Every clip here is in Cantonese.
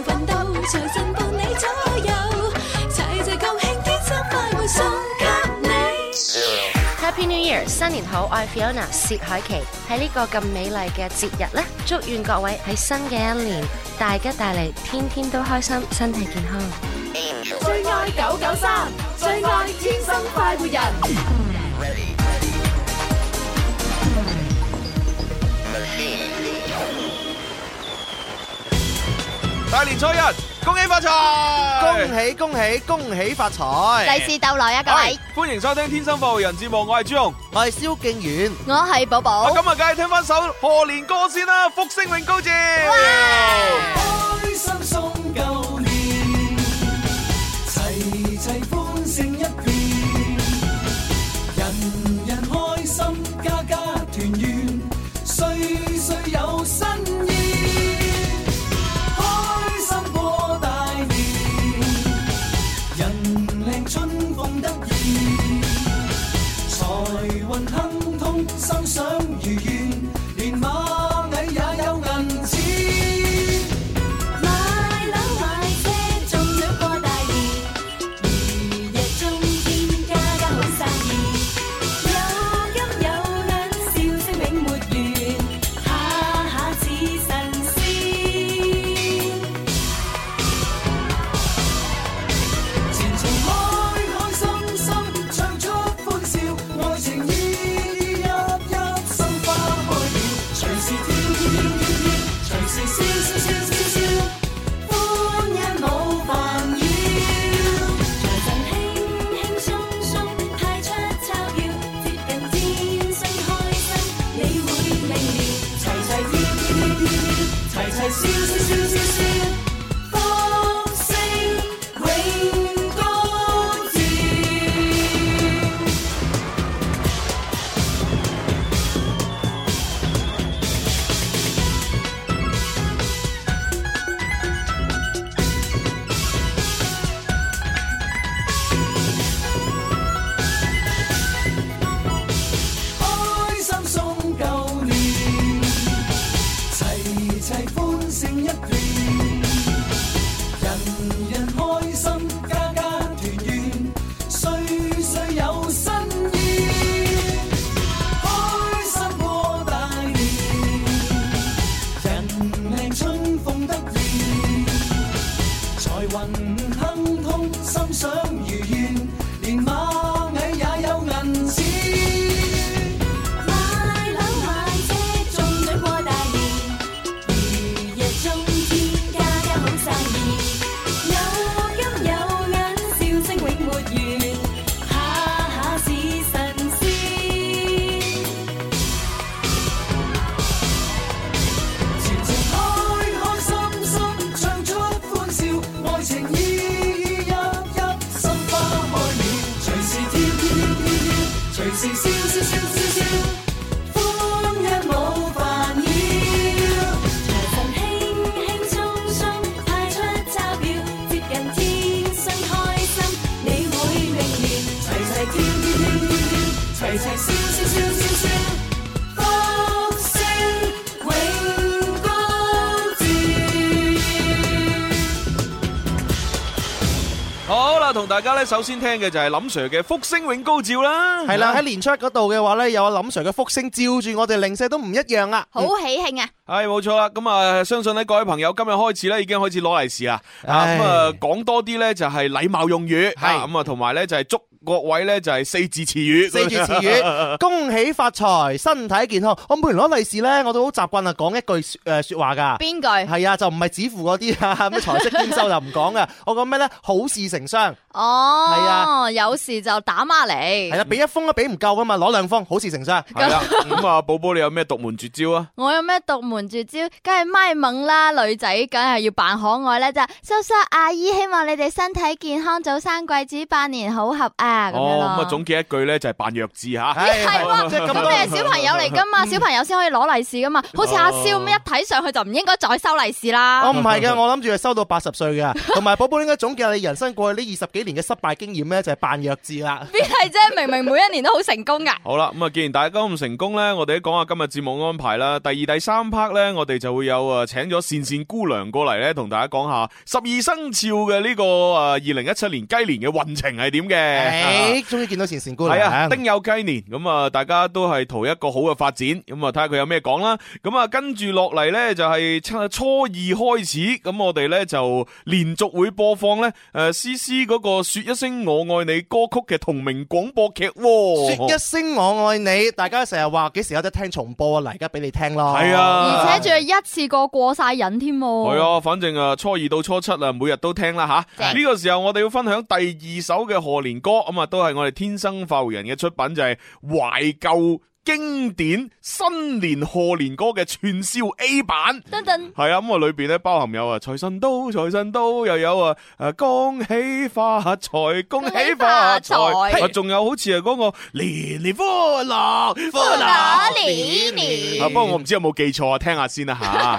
奮鬥，隨身伴你左右，齊齊共慶天生快活送給你。 Happy New Year！ 新年好，我係 Fiona 薛凱琪。喺呢個咁美麗嘅節日呢，祝願各位喺新嘅一年大吉大利，天天都開心，身體健康。 最愛993，最愛天生快活人。 大年初一，恭喜發財！ 恭喜恭喜恭喜發財！ 利是逗來啊，各位！ 歡迎收聽《天生快活人》節目，我係朱紅， 我係蕭敬遠， 我係寶寶。 咁啊，梗係聽翻首賀年歌先啦，《福星永高照》。 開心送舊年，齊齊歡聲一片，人人開心，家家團圓，歲歲有新意。春風得意，財運亨通，心想如願，連螞蟻也有銀錢。 買樓買車中獎過大年，如日中天家家好生意，有金有銀笑聲永沒完，下下似神仙。前程同大家咧，首先聽嘅就係林 Sir 嘅《福星永高照》啦。 係啦，喺年初一嗰度嘅話咧，有林 Sir 嘅福星照住我哋，零舍都唔一樣啊！ 好喜慶啊！ 係冇錯啦，咁啊，相信咧各位朋友今日開始咧已經開始攞利是啦。咁啊，講多啲咧就係禮貌用語，係咁啊，同埋咧就係祝各位咧就係四字詞語， 四字詞語，恭喜發財，身體健康。我每年攞利是咧，我都好習慣啊，講一句說話噶。 邊句？ 係啊，就唔係指符嗰啲啊，咩財色兼收就唔講噶。我講咩咧？好事成雙。 哦， 係啊， 有事就打孖嚟。 係啦，俾一封都俾唔夠噶嘛，攞兩封，好事成雙。 係啦，咁啊，寶寶你有咩獨門絕招啊？ 我有咩獨門絕招？梗係咪懵啦，女仔梗係要扮可愛咧，就叔叔阿姨，希望你哋身體健康，早生貴子，百年好合啊！咁樣咯。 咁啊，總結一句咧就係扮弱智吓。 係喎，咁你係小朋友嚟噶嘛？小朋友先可以攞利是噶嘛？好似阿蕭咁一睇上去就唔應該再收利是啦。 我唔係嘅，我諗住係收到80歲嘅。同埋寶寶應該總結你人生過去呢20幾幾年嘅失敗經驗咧，就係扮弱智啦。 邊係啫？明明每一年都好成功噶。 好啦，咁啊，既然大家咁成功咧，我哋都講下今日節目安排啦。第二、第三 part 咧，我哋就會有請咗善善姑娘過嚟咧，同大家講下12生肖嘅呢個2017年雞年嘅運程係點嘅。 終於見到善善姑娘。 係啊，丁酉雞年，咁啊，大家都係圖一個好嘅發展，咁啊，睇下佢有咩講啦。咁啊，跟住落嚟咧就係初二開始，咁我哋咧就連續會播放咧詩詩嗰個說一聲我愛你歌曲嘅同名廣播劇。 說一聲我愛你，大家成日話幾時有得聽重播啊？嚟而家俾你聽咯。 係啊， 而且仲係一次過晒癮添。 係啊，反正初二到初七啊，每日都聽啦吓。呢個時候我哋要分享第二首嘅賀年歌，咁啊都係我哋天生快活人嘅出品，就係懷舊經典新年賀年歌嘅串燒 A 版。 噔噔。 係啊，咁啊裏邊咧包含有財神到，財神到，又有恭喜發財，恭喜發財，仲有好似係嗰個年年歡樂， 歡樂年年。 不過我唔知有冇記錯啊，聽下先啦吓。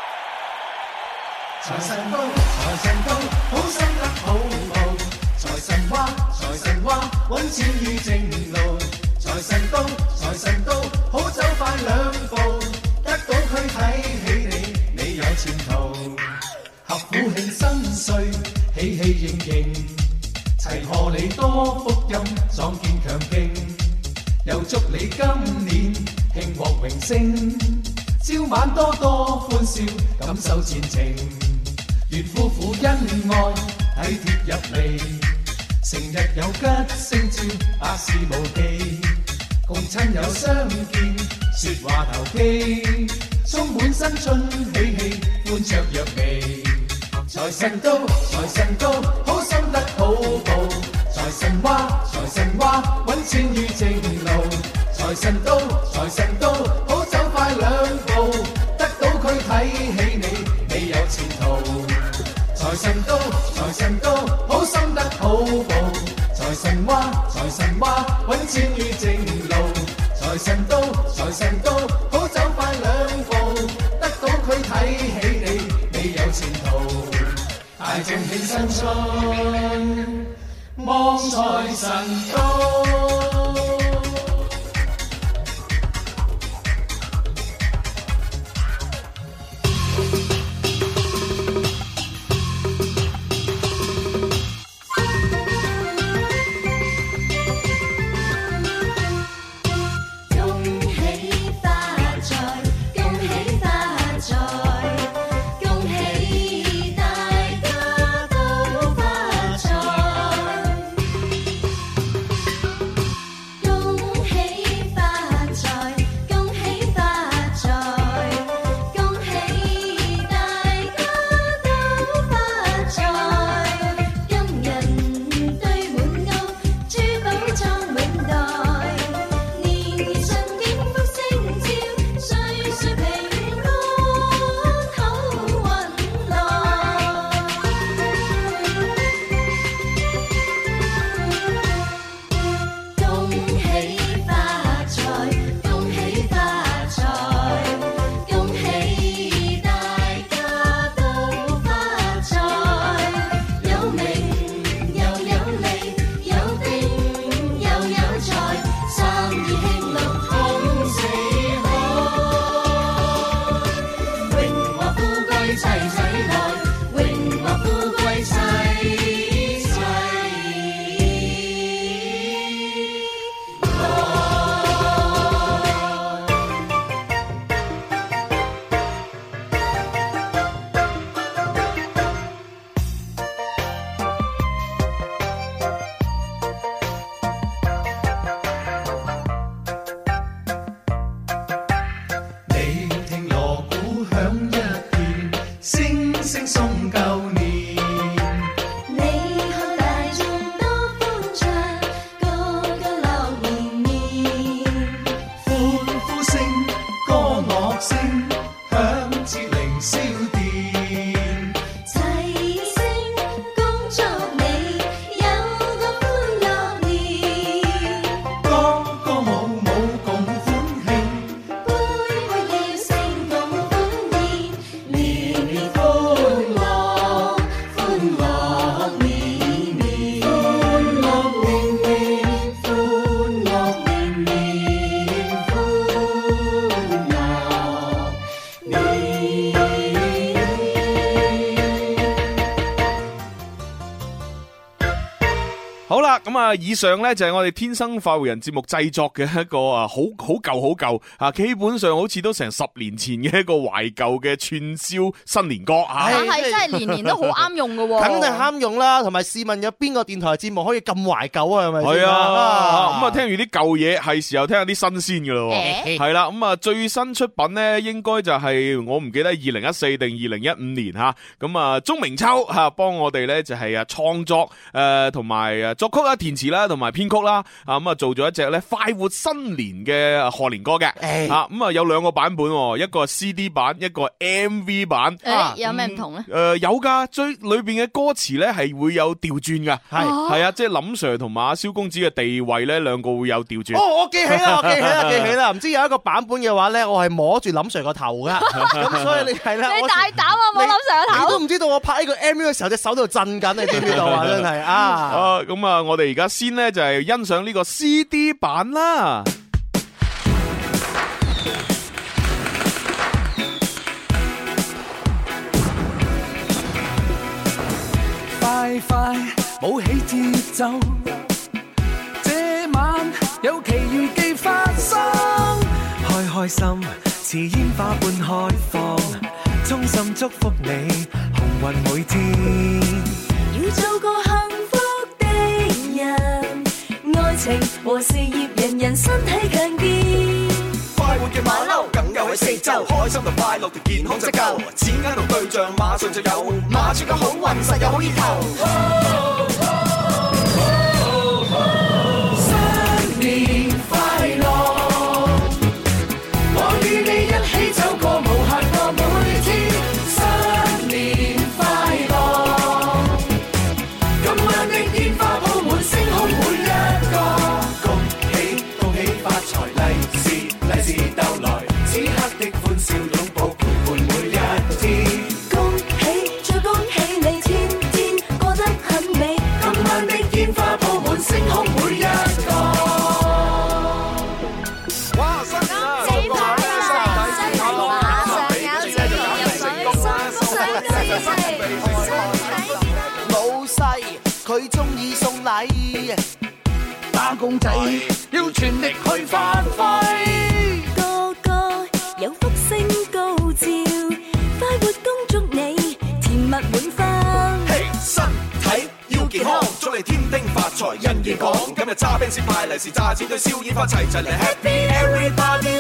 財神到，財神到，好心得好報。財神話，財神話，揾錢於正路。財神到，財神到，好走快兩步。得到佢睇起你，你有前途。合府慶新歲，喜氣盈盈，齊賀你多福蔭，壯健強勁。又祝你今年慶獲榮升，朝晚多多歡笑，感受前程。願夫婦恩愛體貼入嚟，成日有吉星照，百事無忌。共親友相見，説話投機，充滿新春喜氣，歡雀躍眉。財神到，財神到，好心得好報。財神話，財神話，揾錢於正路。財神到，財神到，好走快兩步。得到佢睇起你，你有前途。財神到，財神到，好心得好報。財神話，財神話，揾錢於正路。財神到，財神到，好走快兩步。得到佢睇起你，你有前途。大眾慶新春，望財神到。 好啦，咁啊，以上咧就係我哋天生快活人節目製作嘅一個好舊啊，基本上好似都成10年前嘅一個懷舊嘅串燒新年歌啊， 係真係年年都好啱用㗎喎， 肯定啱用啦。同埋試問有邊個電台節目可以咁懷舊啊？係咪？ 係啊，咁啊聽完啲舊嘢，係時候聽下啲新鮮㗎咯。係啦，咁啊最新出品咧，應該就係我唔記得2014定2015年吓，咁啊鐘明秋吓幫我哋咧就係創作同埋作曲啦、填詞啦、同埋編曲啦，咁啊做咗一隻咧快活新年嘅賀年歌嘅，咁啊有2個版本，一個係 CD 版，一個 MV 版。 有咩唔同咧？ 有噶，裏邊嘅歌詞咧係會有調轉噶，係啊，即係林 Sir 同埋阿蕭公子嘅地位咧，兩個會有調轉。 哦，我記起啦，唔知有一個版本嘅話咧，我係摸住林 Sir 個頭噶，咁所以你係啦， 你大膽啊，摸林 Sir 個頭， 你都唔知道我拍呢個 MV 嘅時候隻手度震緊，你知唔知道啊？真係啊！ 咁啊，我哋而家先咧就係欣賞呢個 CD 版啦。 快快舞起節奏，這晚有奇遇記發生，開開心似煙花般開放，衷心祝福你鴻運每天。 要做個幸福的人，愛情和事業人人身體強健。 快活嘅馬騮梗有喺四周，開心同快樂同健康則夠，錢啱同對象馬上就有，馬出嘅好運實有好意頭。新年快樂，我與你一起走過無限個每天。新年快樂，今晚的煙花鋪滿星空每一個，恭喜恭喜發財，利是到來，此刻的歡笑擁抱陪伴每一天。 恭喜再恭喜你，天天過得很美。 今晚的煙花鋪滿星空每一個。哇！新年啊！ 幾快啊！身體馬上有錢入水， 老細佢中意送禮， 打工仔要全力去發揮。 個個有福星高照，快活恭祝你甜蜜滿分。 嘿，身體要健康，祝你添丁發財人緣廣。今日揸 Benz 派利是，炸錢堆燒煙花，齊齊嚟 Happy Everybody！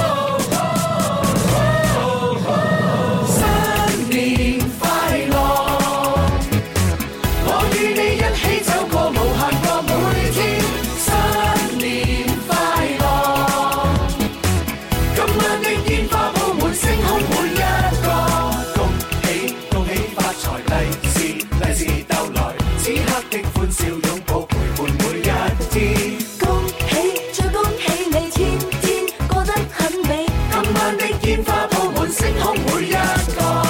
新年快樂，我與你一起走過無限個每天。新年快樂，今晚的煙花鋪滿星空每一個，恭喜恭喜發財，利是到來，此刻的歡笑擁抱陪伴每一天。 恭喜再恭喜你，天天過得很美。 今晚的煙花鋪滿星空每一個，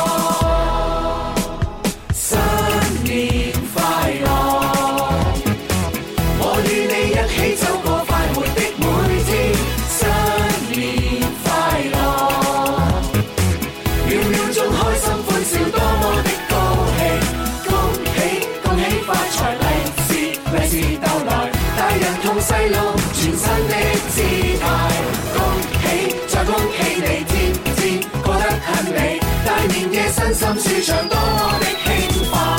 新年快樂，我與你一起走過快活的每天。新年快樂，秒秒鐘開心歡笑多麼的高興，恭喜恭喜發財，利是到來，大人同細路全新的姿態，恭喜再恭喜你，天天過得很美，大年夜身心舒暢多麼的輕快。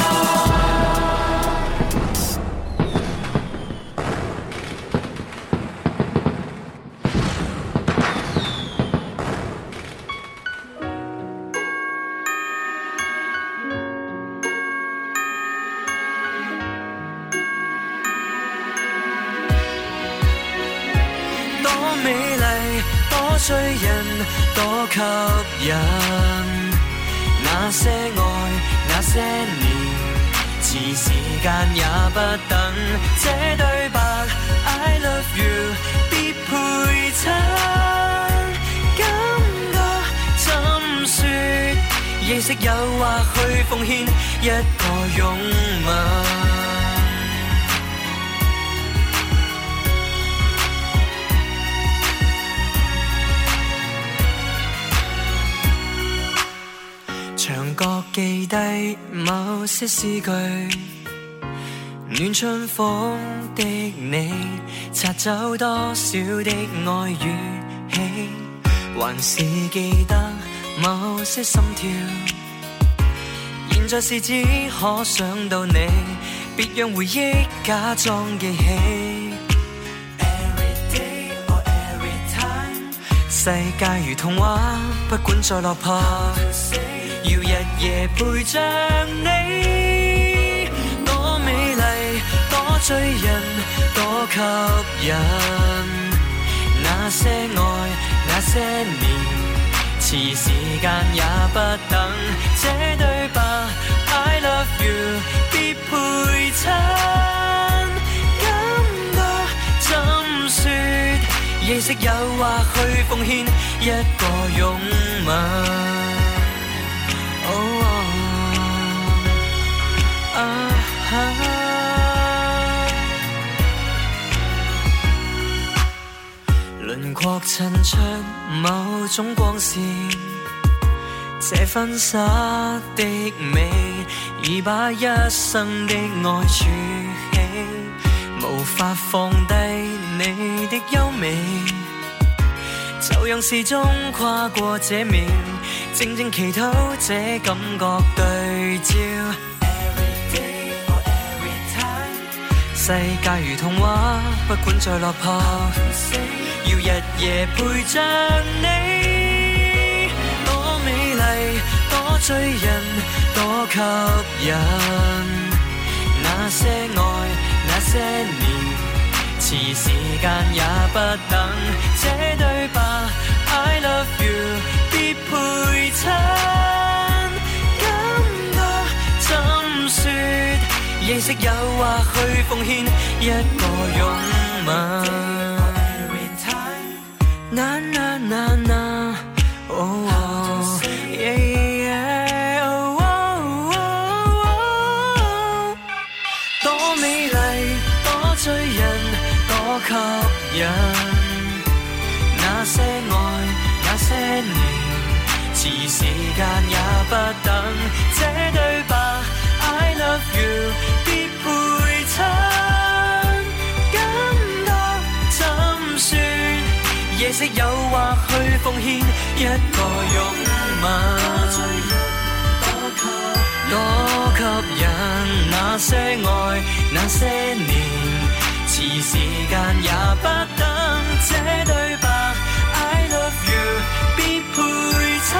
多美麗，多醉人，多吸引。那些愛，那些年，遲時間也不等。這對白 I love you 必配襯，感覺怎說？認識誘惑去奉獻一個擁吻。牆角記低某些詩句， 暖春風的你，擦走多少的愛與喜，還是記得某些心跳。現在是只可想到你，別讓回憶假裝記起。Every day or every time， 世界如童話，不管再落魄，要日夜陪着你。多美麗，多醉人，多吸引。那些愛，那些年。遲時間也不等，這對白 I love you 必配襯，感覺怎說？夜色誘惑去奉獻一個擁吻。輪廓襯出某種光線，這婚紗的美已把一生的愛儲起，無法放低你的優美，就讓時鐘跨過這秒，靜靜祈禱這感覺對照。Every day or every time， 世界如童話，不管再落魄，要日夜陪着你。多美麗，多醉人，多吸引。那些愛，那些年，遲時間也不等。這對白 I love you 必配襯，感覺怎說？夜色誘惑去奉獻一個擁吻。Na na na na， oh oh yeah yeah， oh oh oh， 多美麗，多醉人，多吸引。那些愛，那些年，遲時間也不等。這對白 I love you 必配襯，感覺怎說？夜色誘惑去奉獻一個擁吻，多吸引。那些愛，那些年，遲時間也不等。這對白 I love you 必配襯，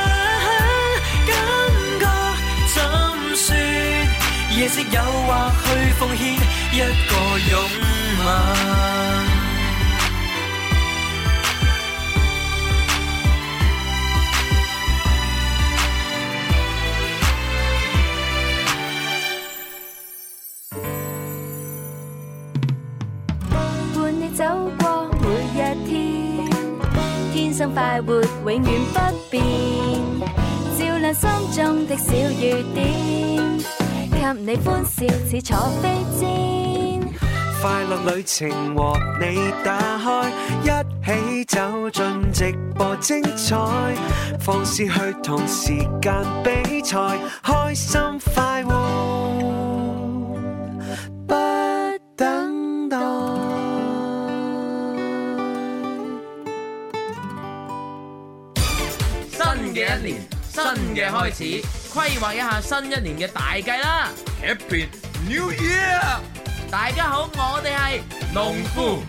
感覺怎說？夜色誘惑去奉獻一個擁吻。 走過每一天，天生快活永遠不變，照亮心中的小雨點，給你歡笑似坐飛氈。 快樂旅程和你打開，一起走進直播精彩，放肆去同時間比賽，開心快活不等待。 新嘅一年，新嘅開始，規劃一下新一年嘅大計啦 ！Happy New Year！ 大家好，我哋係農夫。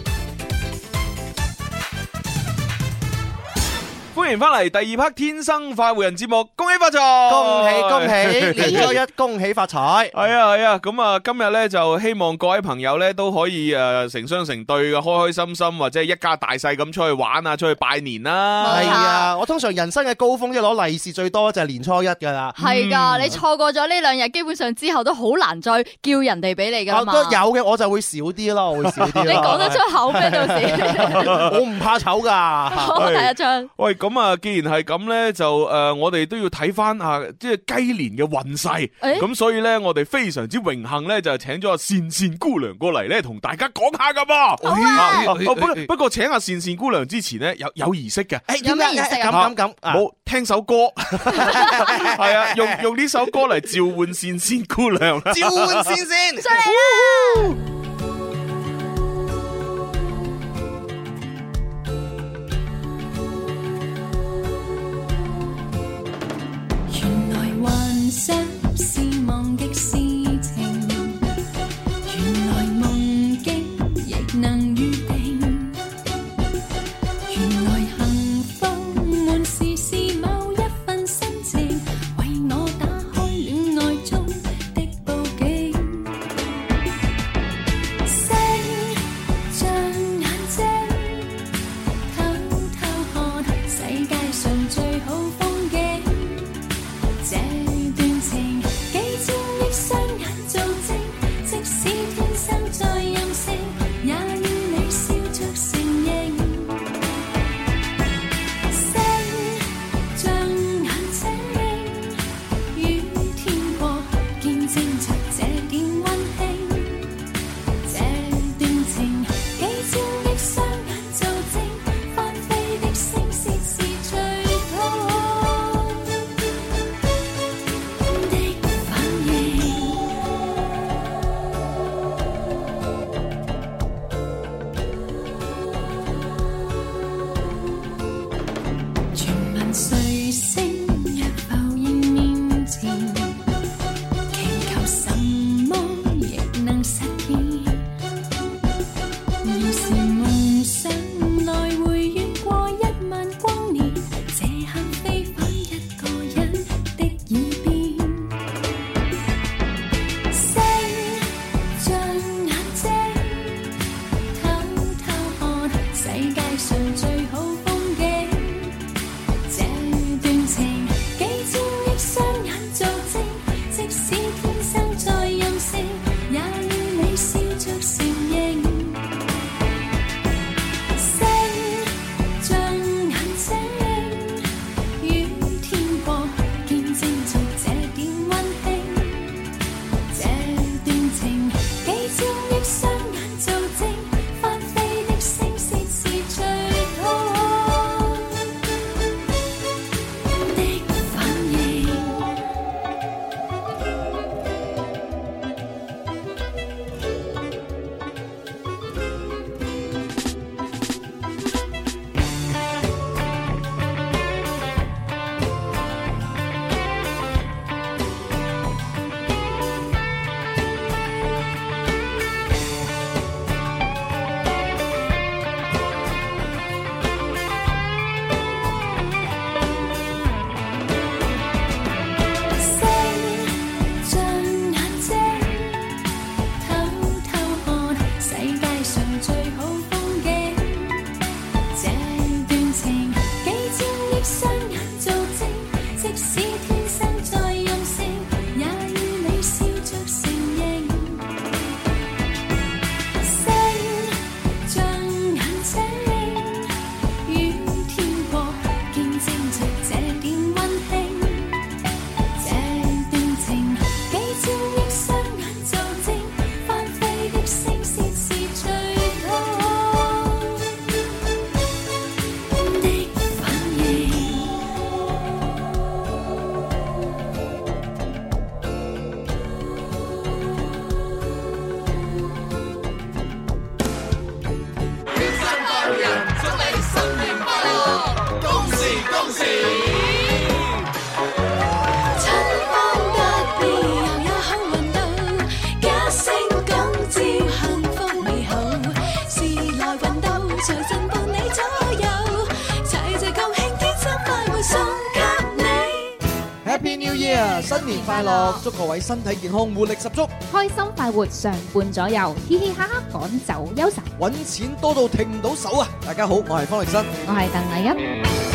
歡迎翻嚟第二 part《天生快活人》節目，恭喜發財！ 恭喜恭喜！年初一恭喜發財！ 係啊，咁啊，今日咧就希望各位朋友咧都可以成雙成對嘅，開開心心，或者係一家大細咁出去玩啊，出去拜年啦。 係啊，我通常人生嘅高峰即係攞利是最多就係年初一噶啦。 係噶，你錯過咗呢兩日，基本上之後都好難再叫人哋俾你噶嘛。 有嘅我就會少啲咯，我會少啲。 你講得出口咩？到時我唔怕醜噶。 好，睇一張。 喂， 咁啊，既然係咁咧，就我哋都要睇翻啊，即係雞年嘅運勢。咁所以咧，我哋非常之榮幸咧，就請咗阿善善姑娘過嚟咧，同大家講下噶噃。不過請阿善善姑娘之前咧，有儀式嘅。 有咩儀式啊？ 咁冇聽首歌，係啊，用呢首歌嚟召喚善善姑娘。 召喚善善， 出嚟啦！ 原來幻想是忘極事情，原來夢境亦能預定，原來幸福滿是某一份心情，為我打開戀愛中的報警。星像眼睛，偷偷看世界上最好風景。這段情幾千億雙眼做證，即使天生再任性，也要你笑着承認。星像眼睛，與天國見證着這點溫馨。這段情幾千億雙眼做證，翻飛的星屑是最好碎星若浮現面前，祈求什麼亦能實現。要是夢想來回遠過10000光年，這刻飛返一個人的耳邊。星像眼睛，偷偷看世界上最好風景。這段情幾千億雙眼做證，即使天生再任性，也要你笑着承認。星像眼睛，與天國見證着這點溫馨。這段情幾千億雙眼做證，翻飛的星屑是最好的反應。星像眼睛，偷偷看世界上最好風景。這段情幾千億雙眼做證，即使天生再任性，也要你笑着承認。星像眼睛，與天國見證着這點溫馨。這段情幾千億雙眼做證，翻飛的星屑是最好的反應。春風得意又有好運到，一聲講照幸福美好，時來運到財神伴你左右，齊齊共慶天生快活送給你。 Happy New Year，新年快樂！祝各位身體健康，活力十足， 開心快活常伴左右，嘻嘻哈哈趕走憂愁。 揾錢多到停唔到手啊！大家好，我係方力申。 我係鄧麗欣。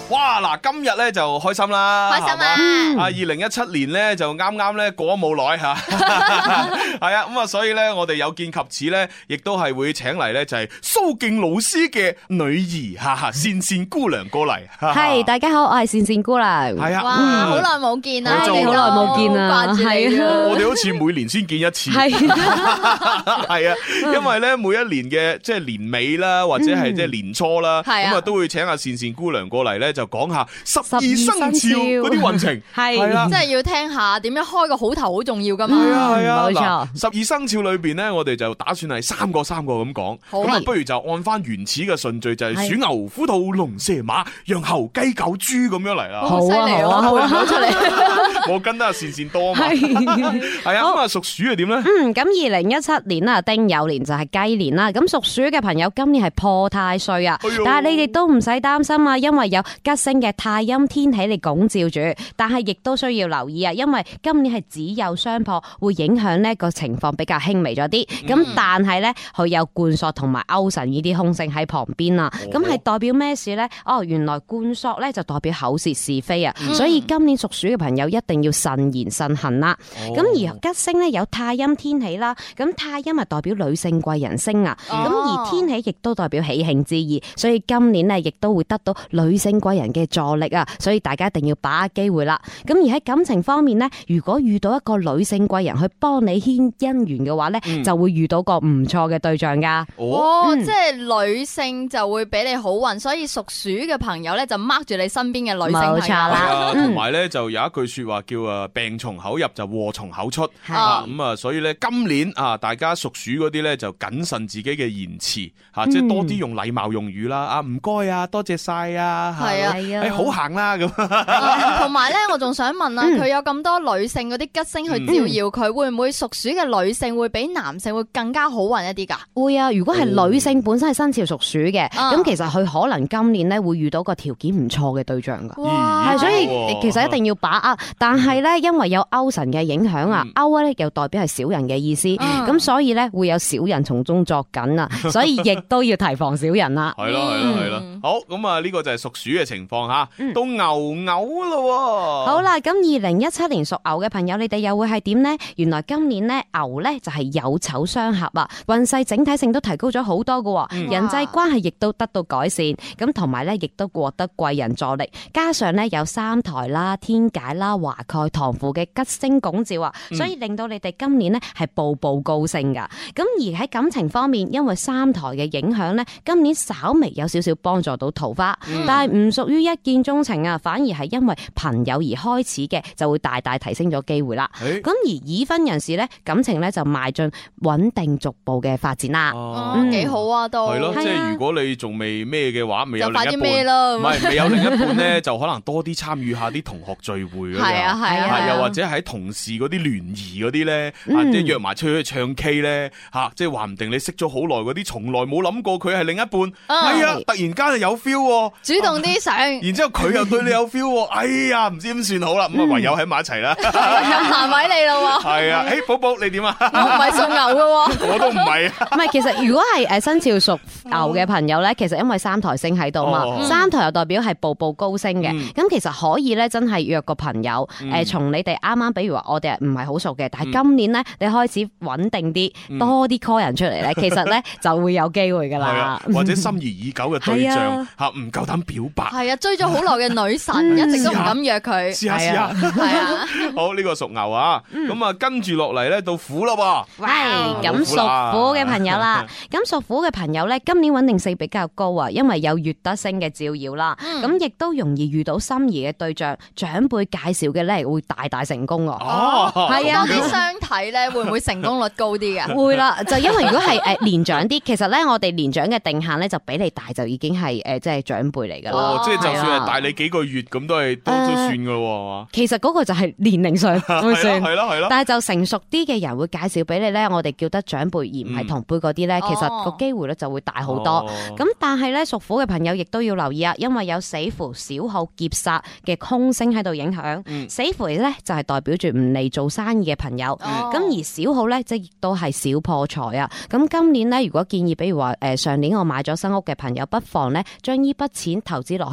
哇！嗱，今日咧就開心啦， 開心啊！ 啊，2017年咧就啱啱咧過咗冇耐吓，係啊，咁啊，所以咧我哋有見及此咧，亦都係會請嚟咧就係蘇敬老師嘅女兒善善姑娘過嚟。 係，大家好，我係善善姑娘。 係啊， 哇，好耐冇見啦， 你好耐冇見啦， 掛住你啊！ 我哋好似每年先見一次， 係係啊，因為咧每一年嘅即係年尾啦，或者係即係年初啦，咁啊都會請阿善善姑娘過嚟咧，就講下12生肖嗰啲運程，係啦， 即係要聽下點樣開個好頭好重要噶嘛。 係啊， 冇錯。 12生肖裏邊咧，我哋就打算係三個咁講，咁啊不如就按翻原始嘅順序，就係鼠牛虎兔龍蛇馬羊猴雞狗豬咁樣嚟啦。 好犀利啊！好出嚟， 我跟得阿善善多啊嘛。係啊，咁啊屬鼠係點咧？ 咁2017年啊，丁酉年就係雞年啦。咁屬鼠嘅朋友今年係破太歲啊，但係你哋都唔使擔心啊，因為有吉星嘅太陰天喜嚟拱照住。但係亦都需要留意啊，因為今年係子酉相破，會影響呢個情況比較輕微咗啲。咁但係咧，佢有貫索同埋勾神呢啲凶星喺旁邊啊。咁係代表咩事咧？哦，原來貫索咧就代表口舌是非啊。所以今年屬鼠嘅朋友一定要慎言慎行啦。咁而吉星咧有太陰天喜啦，咁太陰係代表女性貴人星啊。咁而天喜亦都代表喜慶之意，所以今年咧亦都會得到女性貴人嘅助力啊。所以大家一定要把握機會啦。咁而喺感情方面咧，如果遇到一個女性貴人去幫你牽姻緣嘅話咧，就會遇到個唔錯嘅對象噶。 即係女性就會俾你好運，所以屬鼠嘅朋友咧就 mark 住你身邊嘅女性朋友。冇錯啦。同埋咧就有一句說話叫病從口入就禍從口出。咁啊，所以咧今年啊，大家屬鼠嗰啲咧就謹慎自己嘅言辭吓，即係多啲用禮貌用語啦。啊，唔該啊，多謝晒啊，係啊，好行啦咁。 同埋咧，我仲想問啊，佢有咁多女性嗰啲吉星去照耀佢，會唔會屬鼠嘅女性會比男性會更加好運一啲噶？ 會啊，如果係女性本身係生肖屬鼠嘅，咁其實佢可能今年咧會遇到個條件唔錯嘅對象噶。係，所以其實一定要把握。但係咧，因為有勾神嘅影響啊，勾咧又代表係小人嘅意思，咁所以咧會有小人從中作緊啊，所以亦都要提防小人啦。 係咯。好，咁啊呢個就係屬鼠嘅情況吓，到牛咯。 好啦，咁2017年屬牛嘅朋友，你哋又會係點呢？原來今年咧牛咧就係有丑相合啊，運勢整體性都提高咗好多噶，人際關係亦都得到改善，咁同埋咧亦都獲得貴人助力，加上咧有三台啦、天解啦、華蓋、唐符嘅吉星拱照啊，所以令到你哋今年咧係步步高升噶。咁而喺感情方面，因為三台嘅影響咧，今年稍微有少少幫助到桃花，但係唔屬於一見鍾情啊，反而係因為朋友而開始嘅，就會大大提升咗機會啦。咁而已婚人士咧，感情咧就邁進穩定逐步嘅發展啦。 幾好啊，都係咯，即係如果你仲未咩嘅話，未有另一半， 就快啲咩咯， 唔係未有另一半咧，就可能多啲參與下啲同學聚會嗰啲，係啊，又或者喺同事嗰啲聯誼嗰啲咧，即係約埋出去唱 K 咧，吓，即係話唔定你識咗好耐嗰啲，從來冇諗過佢係另一半，係啊，突然間就有 feel， 主動啲上， 然之後佢又對你有 feel，哎呀，唔知點算好啦，咁啊唯有喺埋一齊啦， 難為你咯， 係啊，寶寶你點啊？ 我唔係屬牛噶， 我都唔係。 唔係，其實如果係生肖屬牛嘅朋友咧，其實因為三台星喺度嘛，三台又代表係步步高升嘅，咁其實可以咧真係約個朋友，從你哋啱啱，比如話我哋唔係好熟嘅，但係今年咧你開始穩定啲，多啲 call 人出嚟咧，其實咧就會有機會噶啦， 或者心儀已久嘅對象吓唔夠膽表白， 係啊，追咗好耐嘅女神一直都唔敢約佢， 試下，係啊，好，呢個屬牛啊，咁啊跟住落嚟咧到虎啦噃， 咁屬虎嘅朋友啦，咁屬虎嘅朋友咧今年穩定性比較高啊，因為有月德星嘅照耀啦，咁亦都容易遇到心儀嘅對象，長輩介紹嘅咧會大大成功啊，係啊， 啲相睇咧會唔會成功率高啲嘅？ 會啦，就因為如果係年長啲，其實咧我哋年長嘅定限咧就比你大就已經係即係長輩嚟噶啦， 即係就算係大你幾個月咁都算噶咯，係嘛？ 其實嗰個就係年齡上會算， 係咯， 但係就成熟啲嘅人會介紹俾你咧，我哋叫得長輩而唔係同輩嗰啲咧，其實個機會咧就會大好多。咁但係咧屬虎嘅朋友亦都要留意啊，因為有死符、小耗、劫煞嘅空星喺度影響。死符咧就係代表住唔嚟做生意嘅朋友，咁而小耗咧即係亦都係小破財啊。咁今年咧如果建議，比如話上年我買咗新屋嘅朋友，不妨咧將呢筆錢投資落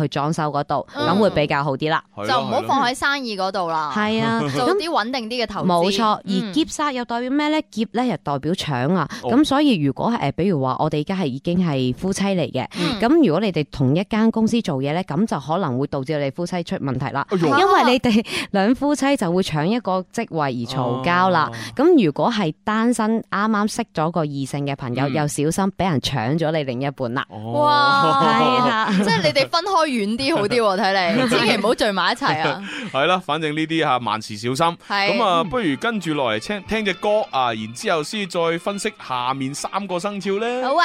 去裝修嗰度，咁會比較好啲啦。 就唔好放喺生意嗰度啦。 係啊， 做啲穩定啲嘅投資。 冇錯，而劫煞又代表咩咧？劫咧又代表搶啊。咁所以如果比如話我哋而家係已經係夫妻嚟嘅，咁如果你哋同一間公司做嘢咧，咁就可能會導致你哋夫妻出問題啦。因為你哋兩夫妻就會搶一個職位而嘈交啦。咁如果係單身啱啱識咗個異性嘅朋友，又小心俾人搶咗你另一半啦。 哇， 係啊， 即係你哋分開遠啲好啲喎，睇嚟千祈唔好聚埋一齊啊。 係啦，反正呢啲吓萬事小心。咁啊，不如跟住落嚟聽隻歌啊，然之後先再分析下面3個生肖咧。 好啊。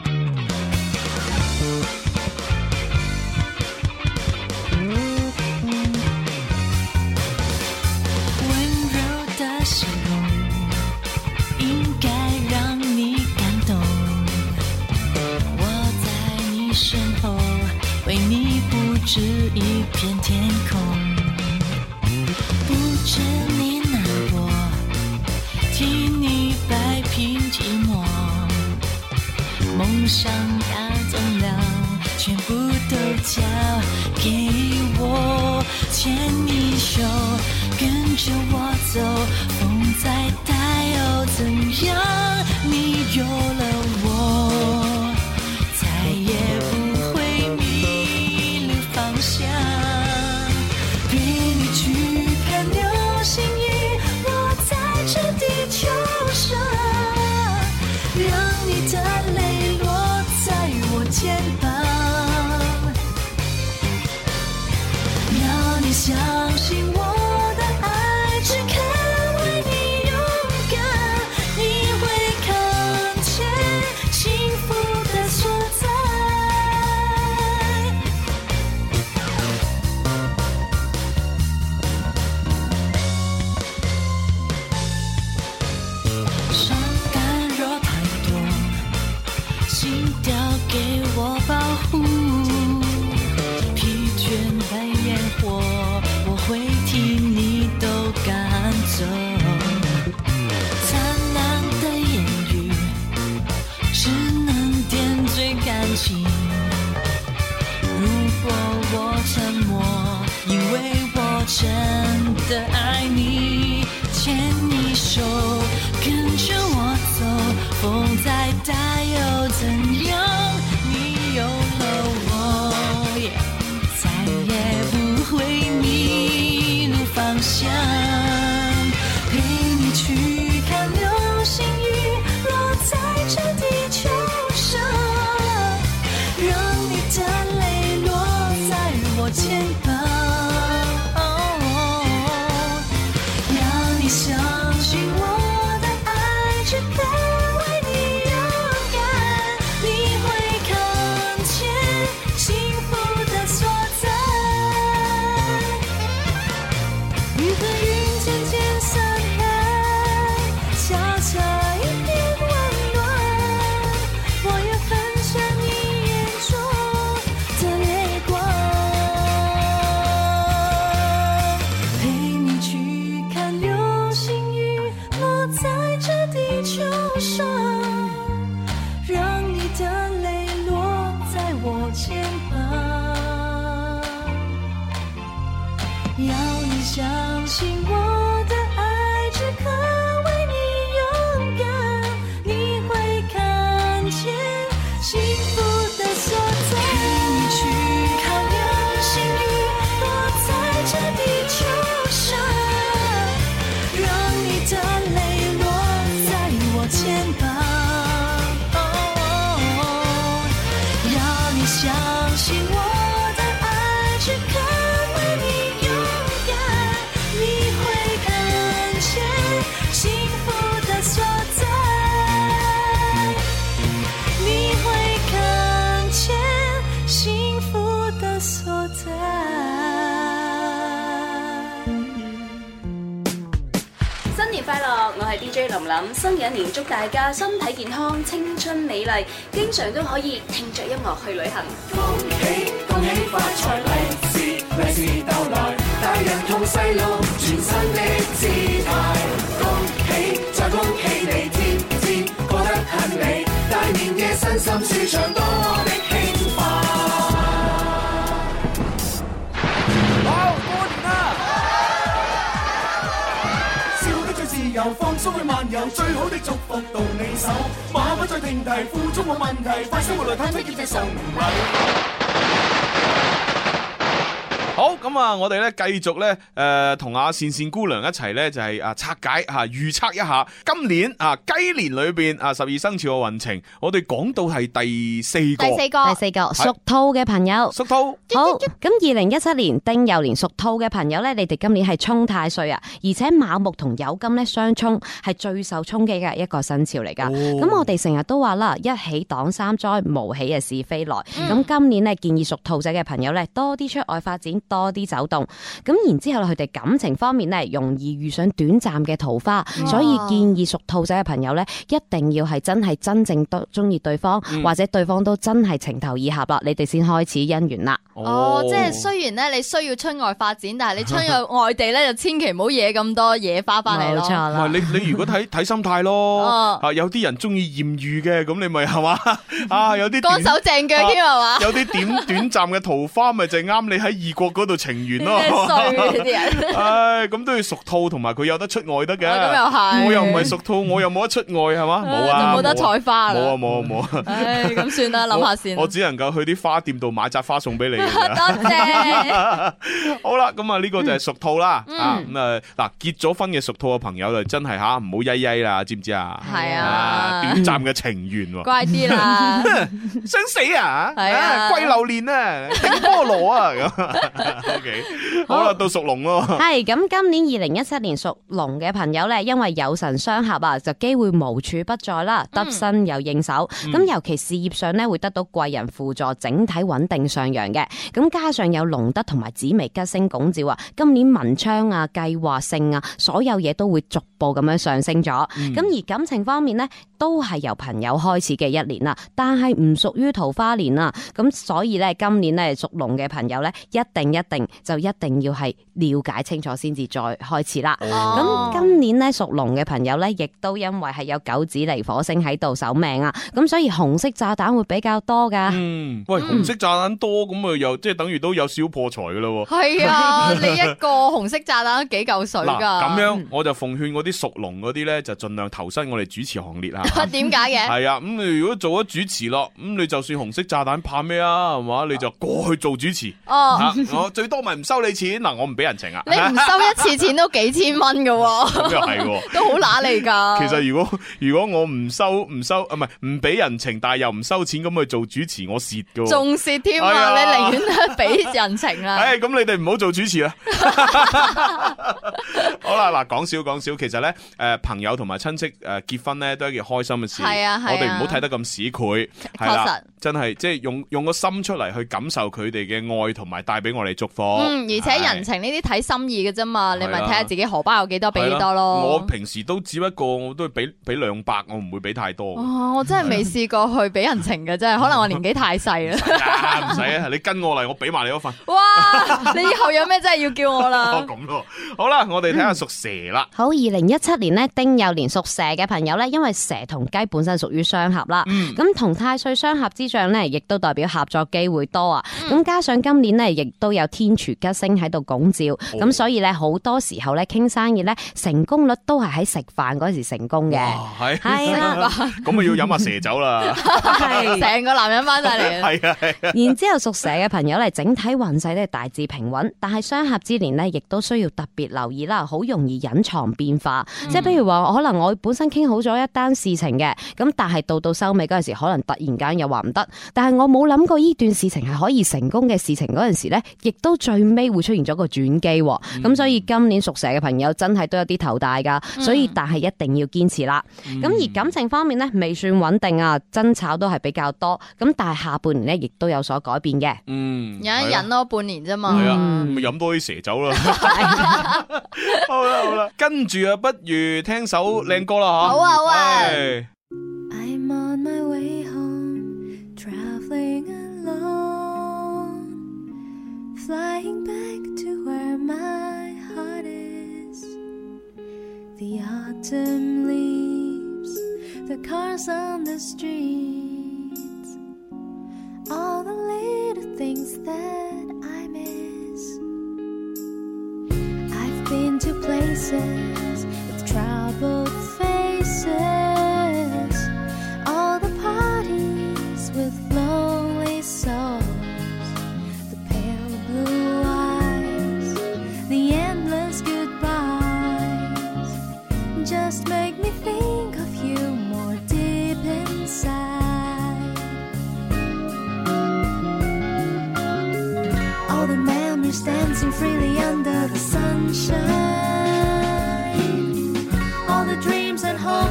笑容应该让你感动，我在你身后为你布置一片天空，不准你难过，替你摆平寂寞，梦想大重量全部都交给我，牵你手跟着我走，风再大又怎样？你有了我，再也不会迷路方向。陪你去看流星雨落在这地球上，让你的泪落在我肩膀，要你相信我。真的爱你，牵你手，跟着我走，风再大又怎样？你有了我，再也不会迷路方向。陪你去看流星雨落在这地球上，让你的泪落在我肩膀。相信我的爱只肯为你勇敢，你会看见幸福的所在。雨和云渐渐散开，下下一片温暖，我要分享你眼中的泪光，陪你去看流在这地球上，让你的泪落在我肩膀，要你相信我的爱只肯为你勇敢，你会看见幸福的所在。陪你去看流星雨落在这地球上，让你的泪肩膀，要你相信我的爱只肯为你勇敢，你会看见幸福的所在，你会看见幸福的所在。 新年快樂！我係 DJ 林琳，新嘅一年祝大家身體健康、青春美麗，經常都可以聽着音樂去旅行。 恭喜恭喜發財，利是到來，大人同細路全新的姿態。恭喜再恭喜你，天天過得很美，大年嘅身心舒暢，多麼的輕快。 去漫遊，最好的祝福到你手，馬不再停蹄，付出冇問題，快生活來探出結仔送禮。 好咁啊！我哋咧繼續咧同阿善善姑娘一齊咧就係拆解預測一下今年雞年裏邊12生肖嘅運程。我哋講到係第四個屬兔嘅朋友。 屬兔好咁，2017年丁酉年屬兔嘅朋友咧，你哋今年係沖太歲啊，而且卯木同酉金咧相沖，係最受衝擊嘅一個生肖嚟噶。咁我哋成日都話啦，一喜擋三災，無喜嘅是非來。咁今年咧建議屬兔仔嘅朋友咧多啲出外發展，多啲走動，咁然之後佢哋感情方面咧容易遇上短暫嘅桃花，所以建議屬兔仔嘅朋友咧一定要係真正都中意對方，或者對方都真係情投意合啦，你哋先開始姻緣啦。 即係雖然咧你需要出外發展，但係你出去外地咧就千祈唔好惹咁多野花翻嚟咯。冇錯啦。你如果睇心態咯，有啲人中意艷遇嘅，咁你咪係嘛有啲乾手淨腳添係嘛？ 有啲短暫嘅桃花，咪就啱你喺異國嗰度情緣咯。 衰啲人， 咁都要屬兔，同埋佢有得出外得嘅。 咁又係， 我又唔係屬兔，我又冇得出外係嘛？冇啊， 就冇得採花啦。 冇啊。 咁算啦，諗下先。 我只能夠去啲花店度買扎花送俾你。 多謝。 好啦，咁呢個就係屬兔啦。嗱，結咗婚嘅屬兔嘅朋友就真係唔好曳曳啦，知唔知啊？ 係啊， 短暫嘅情緣。 乖啲啦， 想死啊！ 係啊， 龜榴蓮啊，定菠蘿啊咁。OK， 好啦，到屬龍咯。 係咁，今年2017年屬龍嘅朋友咧，因為有神相合啊，就機會無處不在啦，得心又應手。咁尤其事業上咧會得到貴人輔助，整體穩定上揚嘅。咁加上有龍德同埋紫微吉星拱照啊，今年文昌啊、計劃性啊，所有嘢都會逐步咁樣上升咗。咁而感情方面呢，都係由朋友開始嘅一年啦，但係唔屬於桃花年啊。咁所以咧，今年咧屬龍嘅朋友咧，一定要係了解清楚先至再開始啦。咁今年咧屬龍嘅朋友咧，亦都因為係有九紫離火星喺度守命啊，咁所以紅色炸彈會比較多噶。 喂，紅色炸彈多咁啊，又即係等於都有小破財噶啦。 係啊，你一個紅色炸彈都幾嚿水噶。 咁樣我就奉勸嗰啲屬龍嗰啲咧，就盡量投身我哋主持行列啊。 點解嘅？ 係啊，咁你如果做咗主持咯，咁你就算紅色炸彈怕咩啊？係嘛，你就過去做主持。我最多咪唔收你錢嗱，我唔俾人情啊。 你唔收一次錢都幾千蚊噶。 咁又係，都好揦嚟噶。 其實如果我唔收唔俾人情，但係又唔收錢咁去做主持，我蝕噶。 仲蝕添啊！你寧願都俾人情啦。 咁你哋唔好做主持啦。好啦，嗱，講笑，其實咧，朋友同埋親戚結婚咧都係一件開心嘅事。係啊，我哋唔好睇得咁市儈。係啦，真係即係用個心出嚟去感受佢哋嘅愛，同埋帶俾我哋祝福。 而且人情呢啲睇心意嘅啫嘛，你咪睇下自己荷包有幾多俾幾多咯。 我平時都只不過我都俾200，我唔會俾太多。 我真係未試過去俾人情嘅，真係可能我年紀太細啦。 唔使啊，你跟我嚟，我俾埋你嗰份。 哇！你以後有咩真係要叫我啦？ 咁咯，好啦，我哋睇下屬蛇啦。 好，2017年呢，丁酉年屬蛇嘅朋友呢，因為蛇同雞本身屬於相合啦，咁同太歲相合之象呢，亦都代表合作機會多啊。咁加上今年呢，亦都有天廚吉星喺度拱照，咁所以呢，好多時候呢，傾生意呢，成功率都係喺食飯嗰時成功嘅。係啦， 咁啊要飲下蛇酒啦， 成個男人翻晒嚟。 係啊。 然之後屬蛇嘅朋友呢，整體運勢呢，大致平穩，但係相合之年呢，亦都需要特別留意啦，好容易隱藏變化。即係譬如話，可能我本身傾好咗一單事情嘅，咁但係到收尾嗰陣時，可能突然間又話唔得，但係我冇諗過呢段事情係可以成功嘅事情嗰陣時呢，亦都最尾會出現咗個轉機。咁所以今年屬蛇嘅朋友真係都有啲頭大噶，所以但係一定要堅持啦。咁而感情方面呢，未算穩定啊，爭吵都係比較多。咁但係下半年呢，亦都有所改變嘅。 忍一忍咯，半年啫嘛。 係啊，咪飲多啲蛇酒啦。好啦，跟住不如聽首靚歌啦吓。 好啊。 I'm on my way home, traveling alone, flying back to where my heart is. The autumn leaves, the cars on the streets, all the little things that I miss. I've been to places with troubled faces,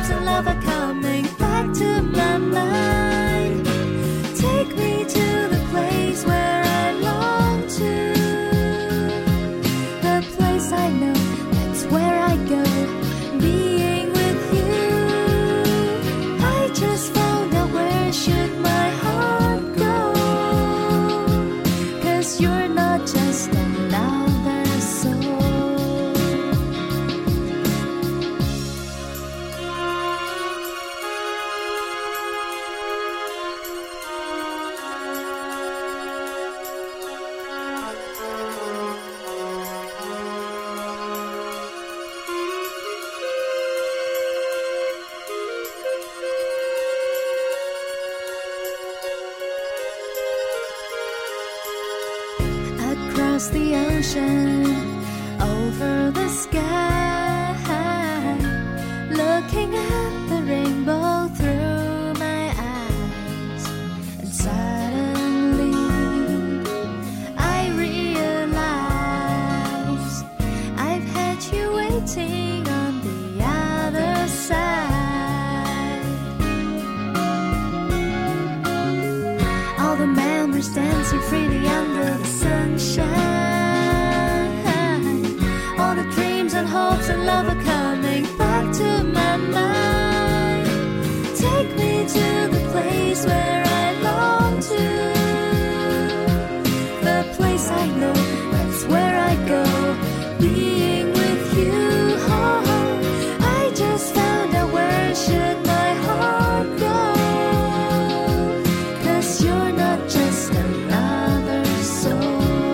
hopes and love are coming back to my mind. Take me to the place where I long to, the place I know, that's where I go, being with you. I just found out where should my heart go, 'cause you're not just another soul. Across the ocean, over the sky, looking at the rainbow through my eyes, and suddenly I realize I've had you waiting on the other side. All the memories dancing freely under the sunshine. All the dreams and hopes and love are coming back to my mind. Take me to the place where I long to, the place I know, that's where I go, being with you. Oh, I just found out where should my heart go, 'cause you're not just another soul.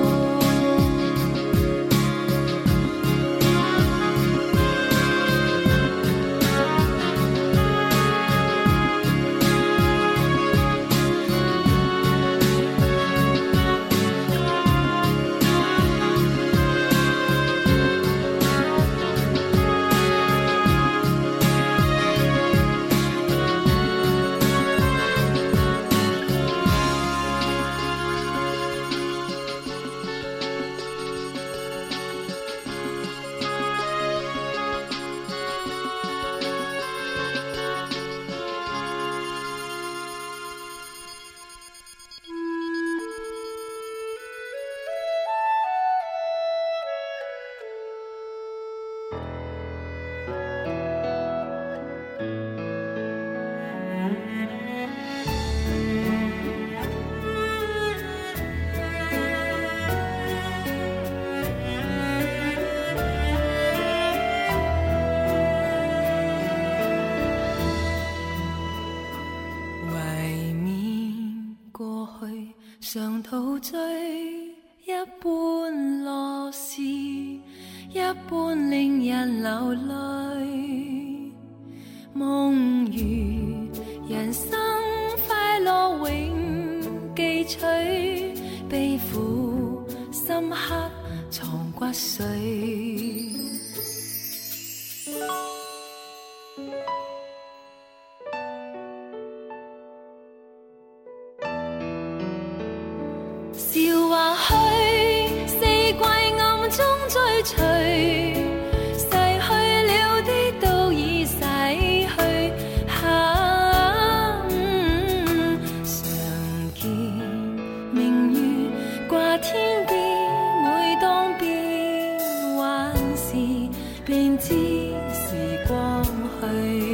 常陶醉，一半樂事，一半令人流淚。夢如人生快樂永記取，悲苦深刻藏骨髓。笑話虛，四季暗中追隨，逝去了的都已逝去。常見明月掛天邊，每當變幻時，便知時光去。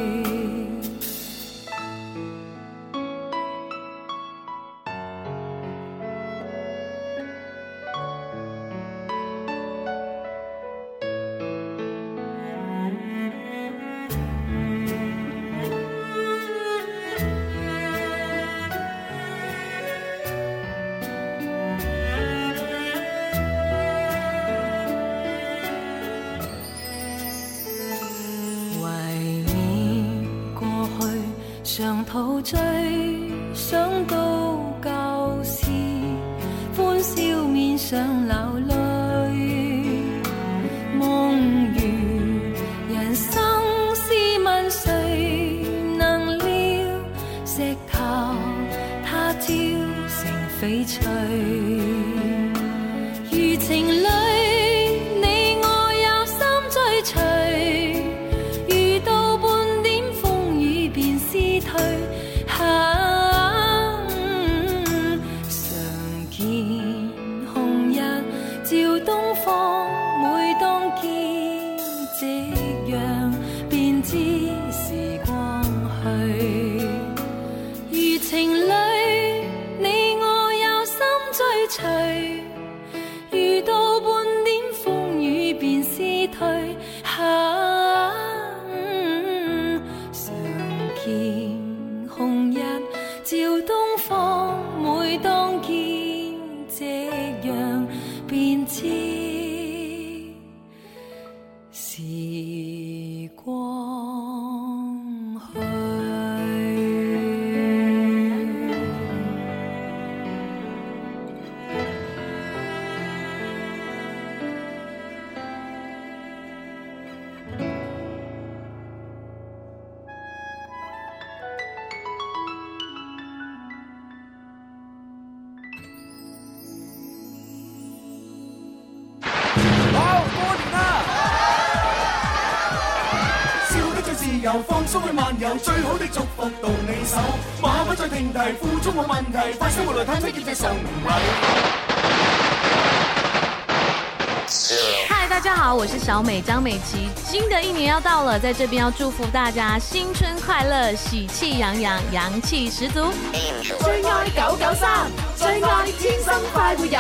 常陶醉，想到舊事，歡笑面上流淚。夢如人生，試問誰能料？石頭它焦成翡翠，如情侶。你我有心追隨，遇到半點遊，放鬆去漫遊，最好的祝福到你手，馬不再停蹄，負重冇問題，快生活來探出結仔送禮。 嗨，大家好，我是小美张美琪。新的一年要到了，在这边要祝福大家新春快乐，喜气洋洋，阳氣十足。 最愛993，最愛天生快活人。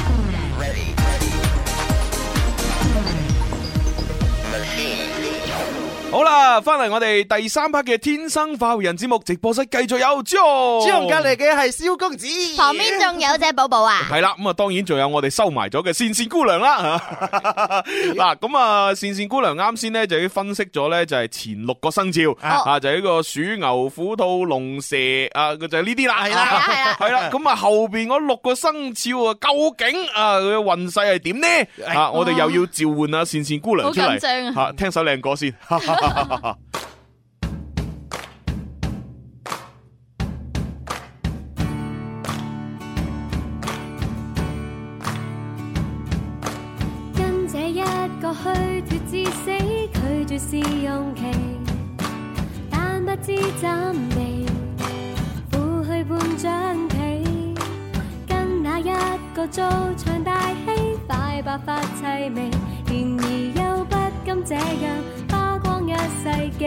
好啦，翻嚟我哋第3 part 嘅天生快活人節目直播室，繼續有朱紅隔籬嘅係蕭公子， 旁邊仲有隻寶寶啊。 係啦，咁啊，當然仲有我哋收埋咗嘅倩倩姑娘啦。嗱，咁啊，倩倩姑娘啱先咧就已經分析咗咧，就係前6個生肖啊，就係呢個鼠、牛、虎、兔、龍、蛇啊，就係呢啲啦。係啦，咁啊後邊嗰6個生肖啊，究竟啊佢嘅運勢係點呢？啊，我哋又要召喚啊倩倩姑娘出嚟， 好緊張啊， 聽首靚歌先。 跟這一個虛脫至死，拒絕試用期，但不知怎地負去半張被，跟那一個做場大戲，快白髮凄美，然而又不甘這樣花光一世紀，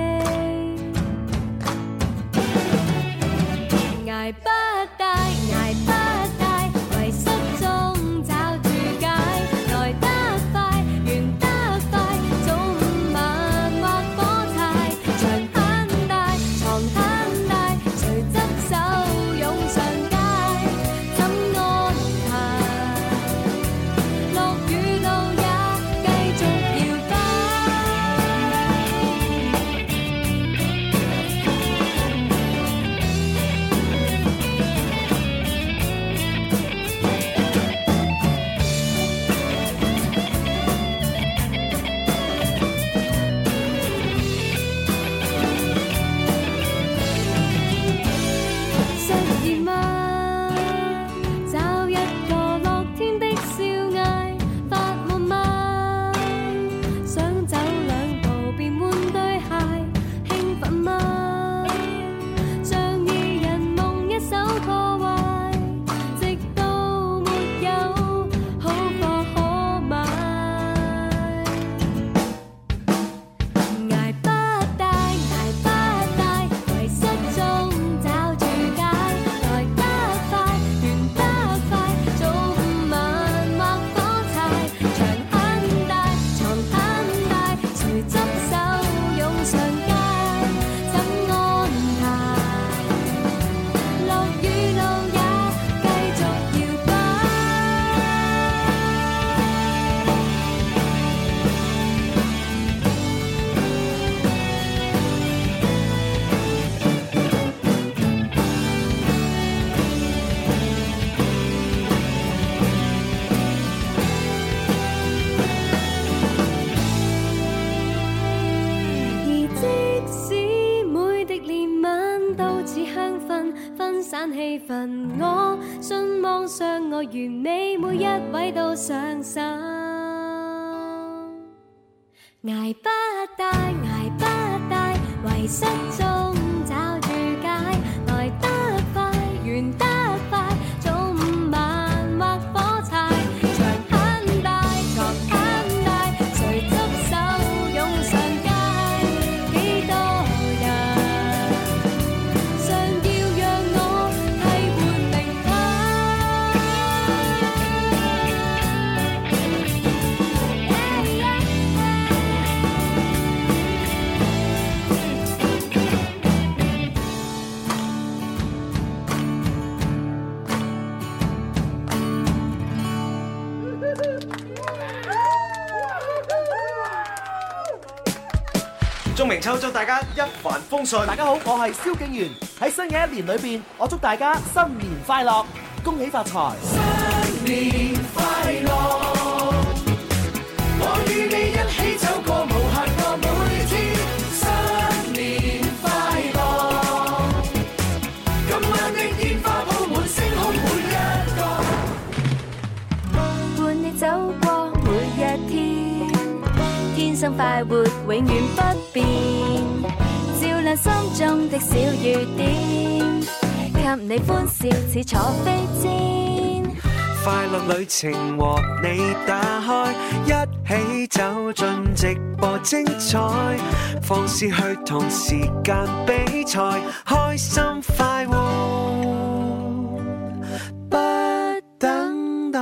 捱不大，捱不大，遺失中找住解，來得快，完得快，早午晚或火柴，牆很大，床很大，誰執手湧上街，怎安排？落雨路也繼續搖擺。失意嗎？找一個樂天的笑嗌，發夢嗎？想走2步便換對鞋，興奮嗎？像二人夢一手破壞，直到沒有好貨可買，捱不大，捱不大，遺失中找住解，來得快，完得快，早午晚或火柴，牆很大，床很大，誰執手湧上街，怎安排？落雨路也繼續搖擺。而即使每滴憐憫都似香薰，分散氣氛，我信望相愛完美，每一位都上手。捱不大，捱不大，遺失中找住解，來得快，完得快，早午晚或火柴，牆很大，床很大，誰執手湧上街，幾多人想要讓我替換名鍾明秋祝大家一帆風順。大家好，我係蕭敬元。喺新嘅一年裏邊，我祝大家新年快樂，恭喜發財。 新年快樂，我與你一起走過無限個每天。新年快樂，今晚的煙花鋪滿星空每一個， 伴你走過每一天，天生快活永遠不變。 心中的小雨點，給你歡笑似坐飛氈。 快樂旅程和你打開，一起走進直播精彩，放肆去同時間比賽，開心快活不等待。